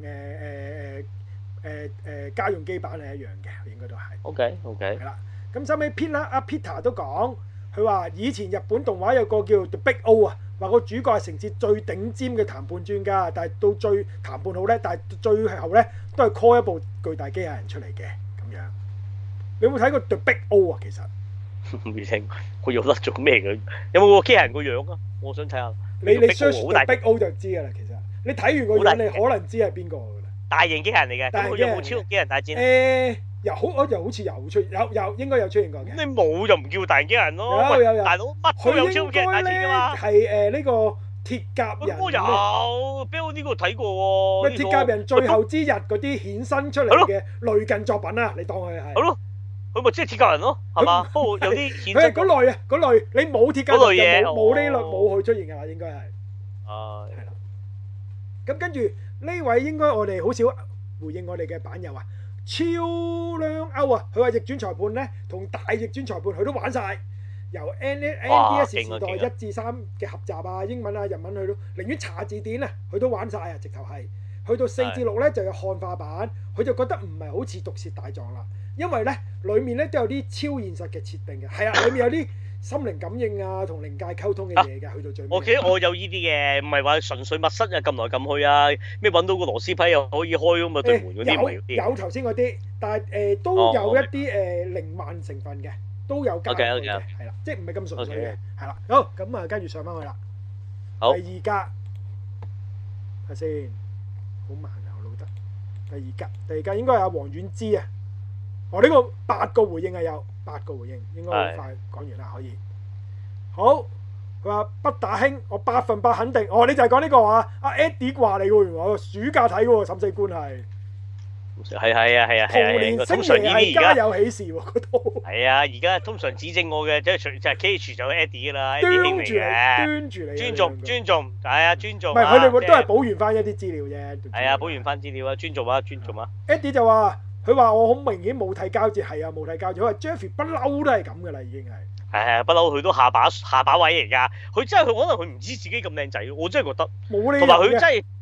Speaker 2: 家用機版係一樣嘅，應該都係。OK。係啦，咁收尾 Peter 都講，佢話以前日本動畫有個叫 The Big O 啊，話個主角係城市最頂尖嘅談判專家，但係到最談判好咧，但係最後咧都係 call 一部巨大機械人出嚟嘅咁樣。你有冇睇過 The Big O 啊？其實
Speaker 1: 未聽過，佢用得做咩嘅？有冇個機械人個樣啊？我想睇下。
Speaker 2: 你 search The Big O 就知㗎啦。其實你睇完個樣，你可能知係邊個㗎啦。
Speaker 1: 大型機械人嚟嘅，咁佢有冇超級機械人大戰？
Speaker 2: 又好似有出有應該有出現過嘅。
Speaker 1: 咁你冇就唔叫大型機械人咯。
Speaker 2: 有
Speaker 1: 大佬乜都有超級機械人大戰㗎嘛。
Speaker 2: 係呢個鐵甲人。
Speaker 1: 我有，俾我呢個睇過喎。
Speaker 2: 咩鐵甲人最後之日嗰啲衍生出嚟嘅類近作品啊？你當佢係。係咯。佢咪即係鐵甲人咯，係嘛？不過有啲顯。佢係嗰類啊，嗰類你冇鐵甲人就冇呢類冇佢出現㗎啦，應該係。係啦。咁跟住呢位應該我哋好少回應我哋嘅版友啊，超靚歐啊！佢話逆轉裁判咧同大逆轉裁判佢都玩晒，由 NDS 時代1至3嘅合集啊，英文啊日文佢都寧願查字典啊，佢都玩晒啊！直頭係去到4至6咧就有漢化版，佢就覺得唔係好似毒舌大狀啦。因為咧，裡面咧都有啲超現實嘅設定嘅，係啊，裡面有啲心靈感應啊，同靈界溝通嘅嘢嘅，去到最尾。我有呢啲嘅，唔係話純粹密室啊，撳來撳去啊，咩揾到個螺絲批又可以開咁啊對門嗰啲唔係嗰啲。有頭先嗰啲，但係都有一啲靈幻成分嘅，都有加入嘅，係啦，即係唔係咁純粹嘅，係啦。好，咁啊跟住上翻去啦。好。第2格，睇下先，好慢啊，我老得。第2格應該係阿黃婉之啊。我呢個8個回應係有8個回應，應該好快講完啦，可以。好，佢話不打興，我100%肯定。你就係講呢個話，阿 Eddie 話你喎，原來我暑假睇嘅喎，審死官係。係啊。童年星爺係家有喜事喎，嗰套。係啊，而家通常指正我嘅，即係 K.H 就 Eddie 啦，端住你，尊重，係啊，尊重。唔係佢哋都係補完翻一啲資料啫。係啊，補完翻資料啊，尊重啊。Eddie 就話。佢話我好明顯冇睇交接，係啊冇睇交接。佢話 Jeffrey 不嬲都係咁噶啦，已經係。係不嬲佢都下把位嚟㗎。佢真係佢可能佢唔知自己咁靚仔，我真係覺得。冇理由嘅。同埋佢真係唔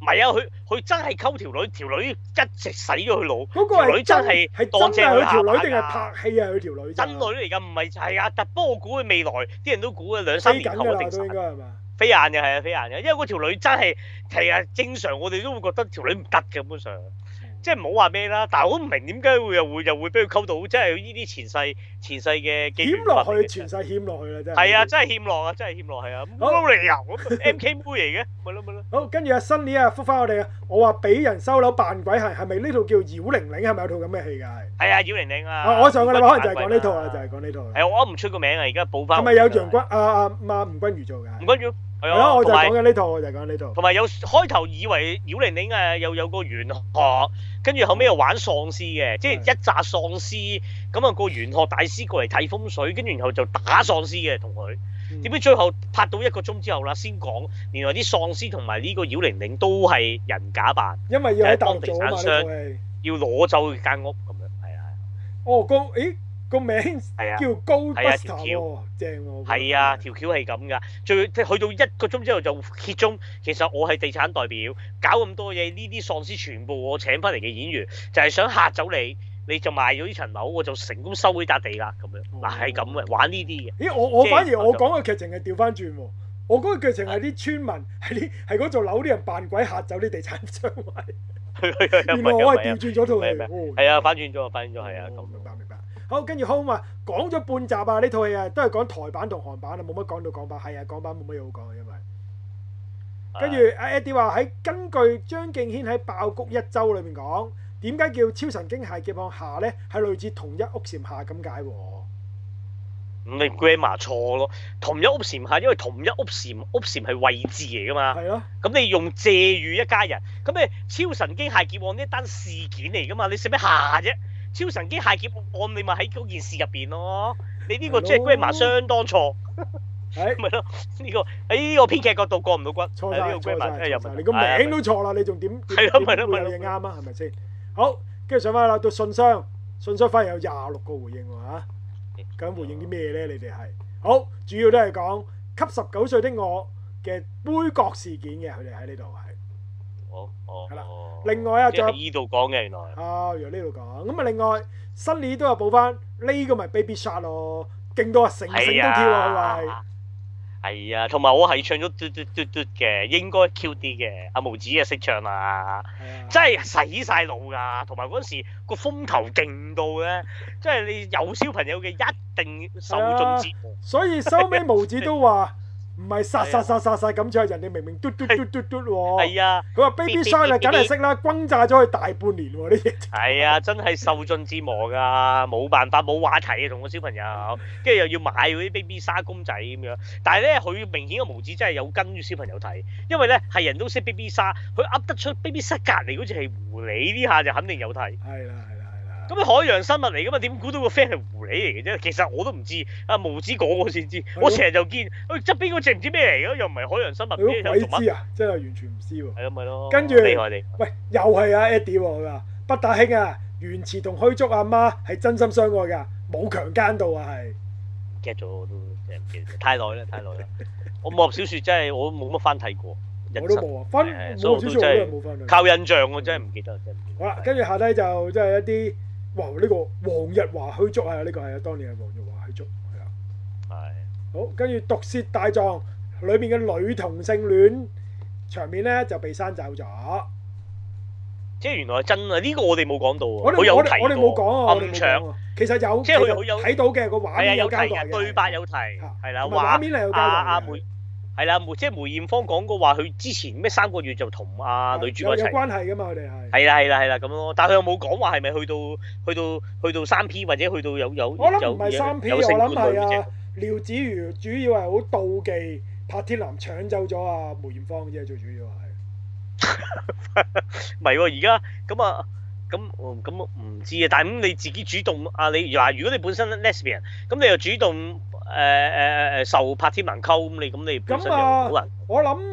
Speaker 1: 係啊，佢真係溝條女，條女一直洗咗佢腦。
Speaker 2: 嗰個
Speaker 1: 條女真係當正
Speaker 2: 佢條女定係拍戲啊？佢條女
Speaker 1: 真女嚟㗎，唔係係啊。不過我估佢未來啲人都估佢2-3年後一定
Speaker 2: 都應該係嘛？
Speaker 1: 飛眼嘅係啊，飛眼嘅，因為嗰條女真係係啊，正常我哋都會覺得條女唔得嘅，根本上。即係唔好話咩啦，但係我都唔明點解又會俾佢溝到，即係呢啲前世嘅
Speaker 2: 欠落去，前世欠落去啦，真係。
Speaker 1: 係啊，真係欠落啊，真係欠落係啊，冇理由咁 MK 妹嚟嘅，咪咯。
Speaker 2: 好，跟住阿新年啊，覆返我哋啊，我話俾人收樓扮鬼係咪呢套叫《妖玲玲》？係咪有套咁嘅戲㗎？係
Speaker 1: 啊，《妖玲玲》啊。
Speaker 2: 我上個禮拜可能就係講呢套啦，就係講呢套。
Speaker 1: 係我噏唔出個名啊，而家補翻。
Speaker 2: 係咪有楊君吳君如做㗎？
Speaker 1: 吳君如。係
Speaker 2: 咯，我就講緊呢套，我就講呢套。
Speaker 1: 同埋有開頭以為妖玲玲又有個玄學，跟住後尾又玩喪屍嘅，即係一紮喪屍咁啊，個玄學大師過嚟睇風水，跟住然後就打喪屍嘅同佢。點知最後拍到1個鐘之後啦，先講原來啲喪屍同埋呢個妖玲玲都係人假扮，
Speaker 2: 因為要喺當地
Speaker 1: 產商要攞走間屋咁樣，係啊。
Speaker 2: 哦，個名叫 Ghostbuster 喎，正喎。係
Speaker 1: 啊，條橋係咁㗎。去到1個鐘之後就揭盅，其實我係地產代表，搞咁多嘢，呢啲喪屍全部我請翻嚟嘅演員，就係想嚇走你，你就賣咗呢層樓，我就成功收呢笪地啦。咁樣嗱係咁嘅，玩呢啲嘅。
Speaker 2: 咦，我反而我講嘅劇情係調翻轉喎，我嗰個劇情係啲村民係嗰座樓啲人扮鬼嚇走啲地產商位。原來我係調轉咗套戲。
Speaker 1: 係啊，反轉咗，係啊。
Speaker 2: 明白。好，跟住 Home 話講咗半集啊！呢套戲啊，都係講台版同韓版啊，冇乜講到港版。係啊，港版冇乜嘢好講，因為跟住阿 Eddie 話喺根據張敬軒喺《爆谷一周》裏面講，點解叫超神經械劫案下呢？係類似同一屋檐下咁解喎。
Speaker 1: 咁你 grammar 錯咯，同一屋檐下，因為同一屋檐係位置嚟噶嘛。係咯。咁你用借喻一家人，咁你超神經械劫案呢單事件嚟噶嘛？你使咩下啫？超神經械劫案你咪喺嗰件事入邊咯，你呢個即係 grammar 相當錯，咪咯呢個喺呢個編劇角度過唔到骨，
Speaker 2: 錯晒，你個名都錯啦，你仲點會有嘢啱啊？係咪先？好，跟住上翻啦，到信箱反而有26個回應喎嚇，究竟回應啲咩咧？你哋係好主要都係講給19歲的我嘅杯葛事件嘅，佢哋喺呢度係。係啦，另外啊，仲有
Speaker 1: 呢度講嘅原來
Speaker 2: 由呢度講咁啊。另外新年都有補翻呢個咪 Baby Shark 咯，勁到啊成都跳啊，
Speaker 1: 係啊，同埋我係唱咗嘟嘟嘟嘟嘅，應該 Q 啲嘅。阿毛子啊識唱啊，真係洗晒腦㗎。同埋嗰陣時個風頭勁到咧，即係你有小朋友嘅一定受盡折磨。
Speaker 2: 所以收尾毛子都話。唔係殺咁唱，人哋明明嘟嘟喎。
Speaker 1: 係啊，
Speaker 2: 佢話 Baby Shark 啊，梗係識啦，轟炸咗佢大半年喎呢嘢。
Speaker 1: 係啊，真係受盡折磨㗎，冇辦法，冇話題啊，同個小朋友，跟住又要買嗰啲 Baby Shark 公仔咁樣。但係咧，佢明顯個毛子真係有跟住小朋友睇，因為咧係人都識 Baby Shark，佢噏得出 Baby Shark 隔離嗰隻係狐狸，呢下就肯定有睇。
Speaker 2: 係啦。
Speaker 1: 咁海洋生物嚟噶嘛？點估到個 friend 係狐狸嚟嘅啫？其實我都唔知，阿毛子講我先知。我成日就見，側邊嗰隻唔知咩嚟嘅，又唔係海洋生物。
Speaker 2: 鬼知啊！真係完全唔知喎。
Speaker 1: 係咯，咪咯。
Speaker 2: 跟住，喂，又係阿 Eddie 喎，佢話北大兄啊，原詞同虛竹阿媽係真心相愛㗎，冇強姦到啊，係。
Speaker 1: 記咗我都真係唔記得，太耐啦。我武俠小説真係我冇乜翻睇過。
Speaker 2: 我都冇啊，武俠小説我都係冇翻睇。
Speaker 1: 靠印象我真係唔記得，真係唔記得。
Speaker 2: 好啦，跟住下低就即係一啲。哇！呢個黃日華虛竹啊，呢個係啊，當年係黃日華虛竹，係啊。係。好，跟住毒舌大狀裏面嘅女同性戀場面咧就被刪走咗。
Speaker 1: 即係原來係真啊！呢個我哋冇講到啊。
Speaker 2: 我哋冇講啊。暗場其實有，
Speaker 1: 即係佢有
Speaker 2: 睇到嘅個畫面有交代嘅，
Speaker 1: 對白有提，係啦。
Speaker 2: 畫面係有交代嘅。
Speaker 1: 係啦，即係梅艷芳講過話，佢之前咩3個月就同女主角一齊。
Speaker 2: 有關係㗎嘛？佢哋係。
Speaker 1: 係啦咁咯，但係佢又冇講話係咪去到3P 或者去到有。
Speaker 2: 我諗唔係3P，我諗係啊。廖子瑜主要係好妒忌柏天男搶走咗啊梅艷芳啫，最主要係。
Speaker 1: 唔係喎，而家咁唔知啊。但係咁你自己主動啊，你話如果你本身 lesbian， 咁你又主動。受柏天男溝咁你本身又好難。
Speaker 2: 我諗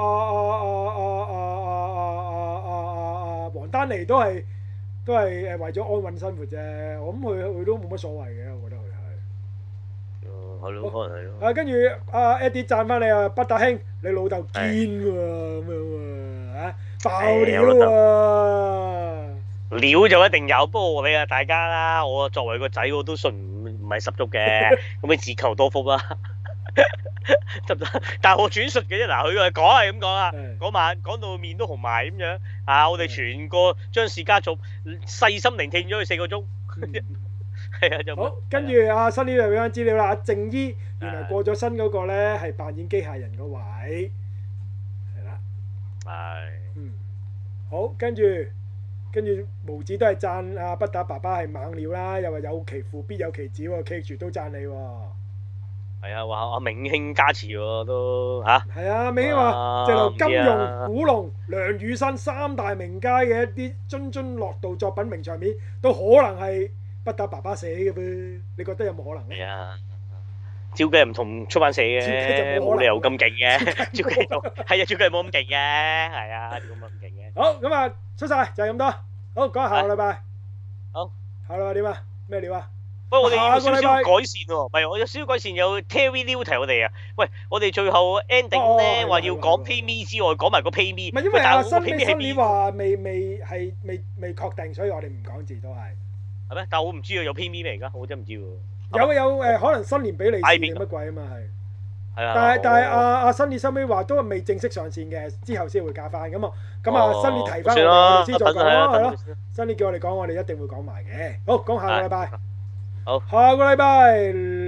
Speaker 2: 黃丹妮都係為咗安穩生活啫。我諗佢都冇乜所謂嘅，我覺得佢係。
Speaker 1: 係咯，可能係咯。
Speaker 2: 跟住Eddie 讚翻你啊，北大兄，你老豆堅喎咁樣喎爆料啊！
Speaker 1: 料就一定有，不過你啊大家啦，我作為個仔我都信唔係十足嘅，咁你自求多福啦，得唔得？但係我轉述嘅啫，嗱佢講係咁講啊，嗰晚講到面都紅埋咁樣啊，我哋全個張氏家族細心聆聽咗佢4個鐘，係啊就
Speaker 2: 好，跟住阿新呢度俾翻資料啦，阿靜姨原來過咗身嗰個咧係扮演機械人個位，係啦，
Speaker 1: 係，
Speaker 2: 好，跟住毛子都係讚阿不打爸爸係猛料啦，又話有其父必有其子喎，keep 住都讚你喎。
Speaker 1: 係啊，話阿明興加持喎都嚇。
Speaker 2: 係啊，明興話直頭金庸、古龍、梁羽生3大名家嘅一啲津津樂道作品名場面，都可能係不打爸爸寫嘅噃，你覺得有冇可能咧？
Speaker 1: 係啊，照計唔同出版社嘅，冇理由咁勁嘅。照計冇，係啊，照計冇咁勁嘅，係啊，點解冇咁勁嘅？
Speaker 2: 好，咁啊，出晒就係咁多。好，講下個禮拜。
Speaker 1: 好，
Speaker 2: 下個禮拜點啊？咩料啊？
Speaker 1: 喂，我哋有少少改善喎，唔係我有少少改善，有 TV News 提我哋啊。喂，我哋最後 ending 咧話要講 PayMe 之外，講埋個 PayMe。
Speaker 2: 唔係因為阿新年話未確定，所以我哋唔講字都係。係
Speaker 1: 咩？但係我唔知啊，有 PayMe 咩而家？我真係唔知喎。
Speaker 2: 有可能新年俾利是定乜鬼啊嘛係。
Speaker 1: 係啊。
Speaker 2: 但係阿新年收尾話都未正式上線嘅，之後先會加翻咁啊。咁啊，新年提翻我哋先再講咯，係咯。新年叫我哋講，我哋一定會講埋嘅。好，講下個禮拜。
Speaker 1: 好，
Speaker 2: 下個禮拜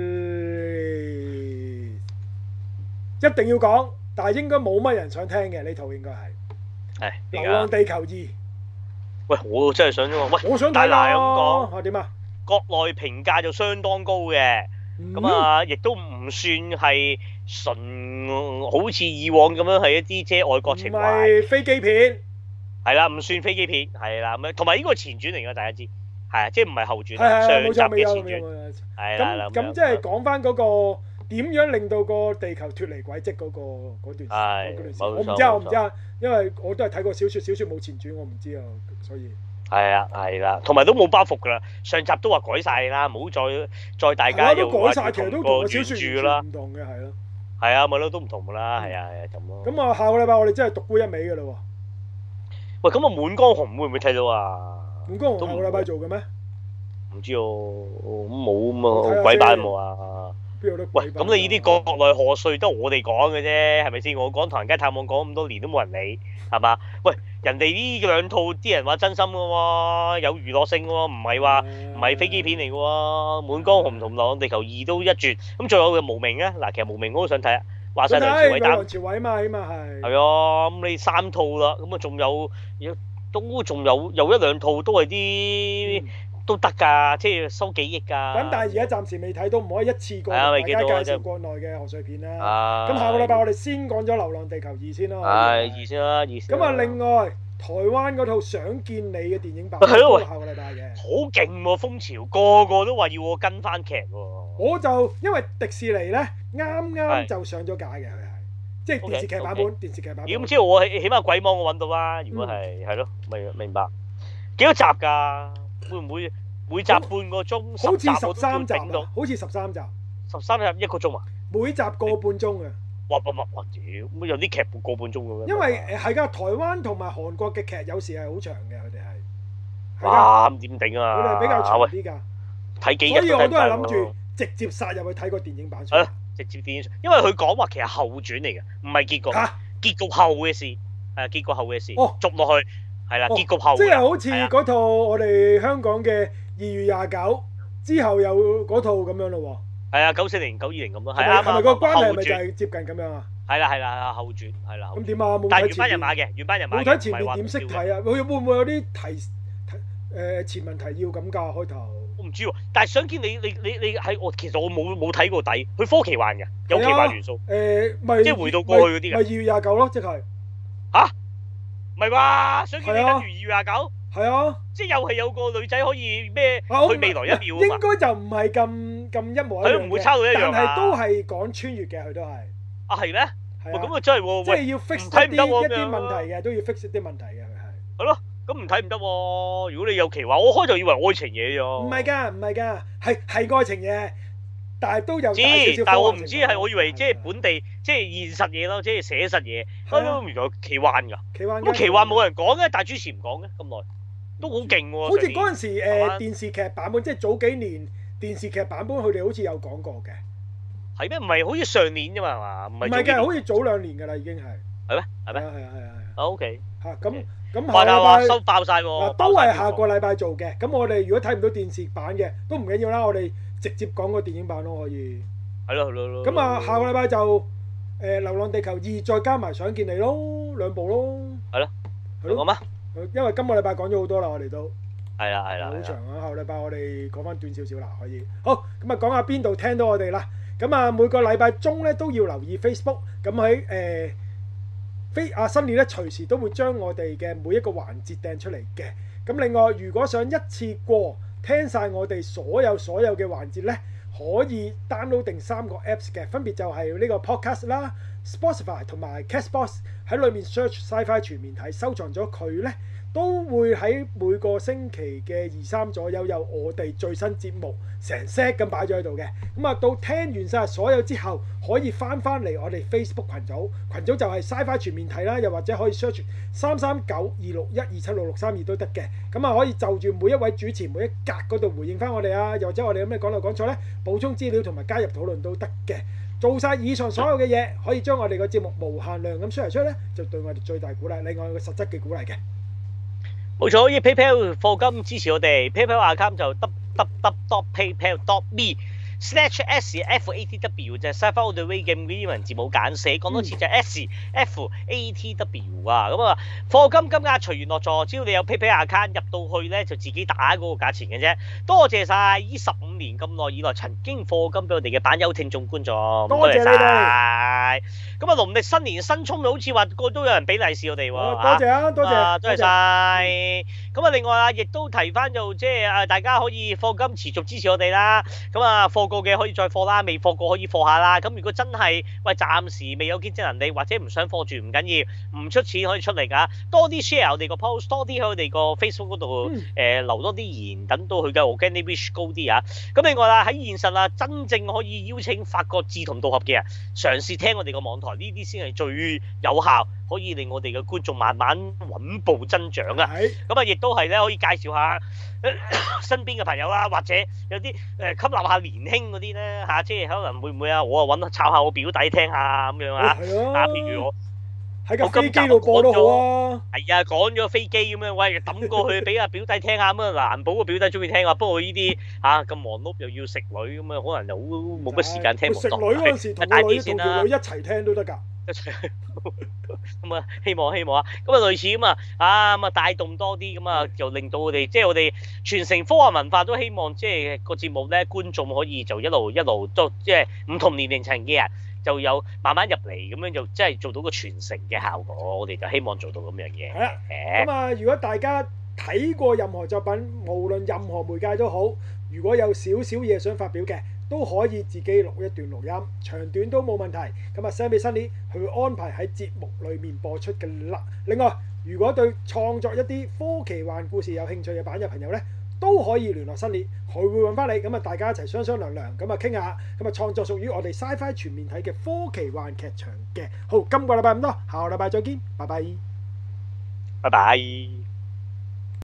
Speaker 2: 一定要講，但係應該冇乜人想聽嘅呢套應該係《流浪地球2》。
Speaker 1: 喂，我真係想啫喎，喂，
Speaker 2: 我想睇啦。咁講點啊？
Speaker 1: 國內評價就相當高嘅，咁啊，亦都唔算係純好似以往咁樣係一啲即係愛國情懷。唔係
Speaker 2: 飛機片。
Speaker 1: 係啦，唔算飛機片，係啦，咁同埋呢個係前傳嚟㗎，大家知。係啊，即係唔係後傳，上集嘅前傳。係啦，
Speaker 2: 咁即係講翻嗰個點樣令到個地球脫離軌跡嗰段時，我唔知啊，因為我都係睇過小説冇前傳，我唔知啊，所以
Speaker 1: 係啊，係啦，同埋都冇包袱㗎啦，上集都話改晒啦，唔好再大家又
Speaker 2: 改晒，其實都同個小
Speaker 1: 説啦，
Speaker 2: 唔同嘅係咯，
Speaker 1: 係啊，咪咯都唔同㗎啦，係啊，咁咯。
Speaker 2: 咁啊，下個禮拜我哋真係獨沽一味㗎啦喎。
Speaker 1: 喂，咁啊，滿江紅會唔會睇到啊？
Speaker 2: 滿江紅下個禮拜做嘅咩？
Speaker 1: 唔知喎，咁冇咁啊，鬼版冇啊！喂，咁你呢啲國內賀歲都我哋講嘅啫，係咪先？我講《唐人街探案》講咁多年都冇人理，係嘛？喂，人哋呢兩套啲人話真心嘅喎，有娛樂性嘅喎，唔係飛機片嚟嘅喎，《滿江紅》同《流浪地球2》都一絕。咁仲有嘅無名啊，嗱，其實無名我都想睇啊，話晒梁朝偉擔。梁
Speaker 2: 朝偉嘛，起碼係。
Speaker 1: 係啊，咁你3套啦，咁啊仲有一兩套都係啲。都得㗎，即係收幾億㗎。
Speaker 2: 咁但係而家暫時未睇到，唔可以一次過大家介紹國內嘅賀歲片啦。咁下個禮拜我哋先講咗《流浪地球2》先啦。
Speaker 1: 係2先啦，2先。
Speaker 2: 咁啊，另外台灣嗰套《想見你》嘅電影版都係下個禮拜嘅。
Speaker 1: 好勁喎，風潮個個都話要我跟翻劇喎。
Speaker 2: 我就因為迪士尼咧啱啱就上咗架嘅，佢係即係電視劇版本。電視劇版本。咁
Speaker 1: 知道我起碼鬼網我揾到啦。如果係咯，明白。幾多集㗎？會唔會每集半個鐘？
Speaker 2: 好似13集啊！好似13集。
Speaker 1: 13集1個鐘啊？
Speaker 2: 每集個半鐘啊！
Speaker 1: 哇！屌，咁有啲劇個半鐘嘅咩？
Speaker 2: 因為係㗎，台灣同埋韓國嘅劇有時係好長嘅，佢哋係。
Speaker 1: 哇！咁點頂啊？
Speaker 2: 佢哋係比較長啲㗎。
Speaker 1: 睇幾日？
Speaker 2: 所以我都係諗住直接殺入去睇個電影版。
Speaker 1: 係咯，直接電影，因為佢講話其實後傳嚟嘅，唔係結局。嚇！結局後嘅事，係結局後嘅事。哦，續落去。係啦，結局後
Speaker 2: 即係好似嗰套我哋香港嘅2月29之後有嗰套咁樣咯喎。係
Speaker 1: 啊，94年、920咁咯。係啊，
Speaker 2: 係咪個關係咪就係接近咁樣啊？
Speaker 1: 係啦，後傳係啦。
Speaker 2: 咁點啊？冇睇前面。
Speaker 1: 但係原班人馬嘅，原班人馬。
Speaker 2: 冇睇前面點識睇啊？會唔會有啲前文提要咁㗎開頭？
Speaker 1: 我唔知喎，但係想見你係我其實我冇睇過底，佢科奇幻嘅，有奇幻元素。
Speaker 2: 咪
Speaker 1: 即係回到過去嗰啲嘅。
Speaker 2: 咪2月29咯，即係。
Speaker 1: 嚇？唔係啩？想見你跟住2月29？
Speaker 2: 係啊，
Speaker 1: 即係又係有個女仔可以咩去未來1秒啊嘛？
Speaker 2: 應該就唔係咁一模一樣嘅，
Speaker 1: 佢唔會差到一樣啊。
Speaker 2: 但係都係講穿越嘅，佢都係。
Speaker 1: 啊係咩？喂，咁啊真係喎，
Speaker 2: 即係要 fix 一啲問題嘅，都要 fix 一啲問題嘅，佢係。係
Speaker 1: 咯，咁唔睇唔得喎。如果你有奇話，我開頭以為愛情嘢啫。
Speaker 2: 唔係㗎，係愛情嘢。 但係都有
Speaker 1: 知，但係我唔知係，我以為即係本地即係現實嘢咯，即係寫實嘢。原來奇幻㗎。咁奇幻冇人講嘅，但係主持唔講嘅咁耐，都好勁喎。
Speaker 2: 好似嗰陣時電視劇版本，即係早幾年電視劇版本，佢哋好似有講過嘅。係
Speaker 1: 咩？唔係好似上年啫嘛，係嘛？
Speaker 2: 唔係嘅，好似早2年㗎啦，已經係。
Speaker 1: 係咩？係咩？
Speaker 2: 係。
Speaker 1: OK。
Speaker 2: 嚇咁。
Speaker 1: 下個禮拜收爆曬喎，
Speaker 2: 都係下個禮拜做嘅。咁我哋如果睇唔到電視版嘅，都唔緊要啦。我哋直接講個電影版咯，可以。係咯。咁啊，下個禮拜就流浪地球2》再加埋想見你咯，2部咯。係咯。講咩？因為今個禮拜講咗好多啦，我哋都。係啦。好長啊！下個禮拜我哋講翻短少少啦，可以。好，咁啊講下邊度聽到我哋啦。咁啊每個禮拜中咧都要留意 Facebook。咁喺新年咧隨時都會將我哋嘅每一個環節掟出嚟嘅。咁另外如果想一次過聽晒我哋所有嘅環節咧，可以 download 定3個 apps 嘅，分別就係呢個 Podcast 啦、Spotify 同埋 Castbox。喺裏面 search Sci-Fi 全面睇，收藏咗佢咧，都會喺每個星期嘅2、3左右有我哋最新節目成 set 咁擺咗喺度嘅。咁啊到聽完晒所有之後，可以翻嚟我哋 Facebook 群組就係 Sci-Fi 全面睇啦，又或者可以 search 33926127662都得嘅。咁啊可以就住每一位主持每一格嗰度回應翻我哋啊，又或者我哋有咩講漏講錯咧，補充資料同埋加入討論都得嘅。做晒以上所有嘅嘢，可以將我哋個節目無限量咁 share 出咧，就對我哋最大鼓勵，另外一個實質嘅鼓勵嘅。冇錯，可以 PayPal 課金支持我哋 ，PayPal account 就 www.paypal.me/SFATW 就係 Sci-Fi All The Way 嘅英文字母簡寫，講多次就係 SFATW 啊。咁啊，課金金額隨緣落座，只要你有 PayPal account 入到去咧，就自己打嗰個價錢嘅啫。多謝晒呢15年咁耐以來曾經課金俾我哋嘅版友聽眾觀眾，多謝晒。咁啊，農曆新年新春好似話個都有人俾利是我哋喎，多謝啊，多謝晒。咁啊，另外啊，亦都提翻就即係大家可以課金持續支持我哋啦。咁啊，課過嘅可以再課啦，未課過可以課下啦。咁如果真係暫時未有經濟能力或者唔想課住唔緊要，唔出錢可以出嚟㗎。多啲 share 我哋個 post， 多啲喺我哋個 Facebook 嗰度留多啲言，等到佢嘅 organic reach 高啲啊。咁另外啦，喺現實啊，真正可以邀請發覺志同道合嘅人嘗試聽我哋個網台，呢啲先係最有效，可以令我哋嘅觀眾慢慢穩步增長啊。咁啊，亦都係咧可以介紹下身邊嘅朋友啦，或者有啲吸納下年輕嗰啲咧嚇，即係可能會唔會啊？我啊抄下我表弟聽下咁樣啊。譬如我喺架飛機度播都好啊。係啊，講咗飛機咁樣，喂抌過去俾阿表弟聽下咁啊，難保個表弟中意聽啊。不過呢啲咁忙碌又要食女咁啊，可能就冇乜時間聽。食女嗰陣時同個女一齊聽都得㗎。咁啊，希望啊，咁啊類似咁啊帶動多啲咁啊，就令到我哋即係我哋傳承科幻文化，都希望即係個節目咧，觀眾可以就一路都即係唔同年齡層嘅人就有慢慢入嚟，咁樣就即係做到個傳承嘅效果。我哋就希望做到咁樣嘢。係啦，咁啊，如果大家睇過任何作品，無論任何媒介都好，如果有少少嘢想發表嘅，都可以自己錄一段錄音，長短都冇問題。咁啊 send 俾 Sunny，佢會安排喺節目裏面播出嘅啦。另外，如果對創作一啲科奇幻故事有興趣嘅版友朋友呢，都可以聯絡 Sunny，佢會揾翻你。咁啊，大家一齊商量，咁啊傾下。咁啊，創作屬於我哋 Sci-Fi 全面睇嘅科奇幻劇場嘅。好，今個禮拜咁多，下個禮拜再見，拜拜。拜拜。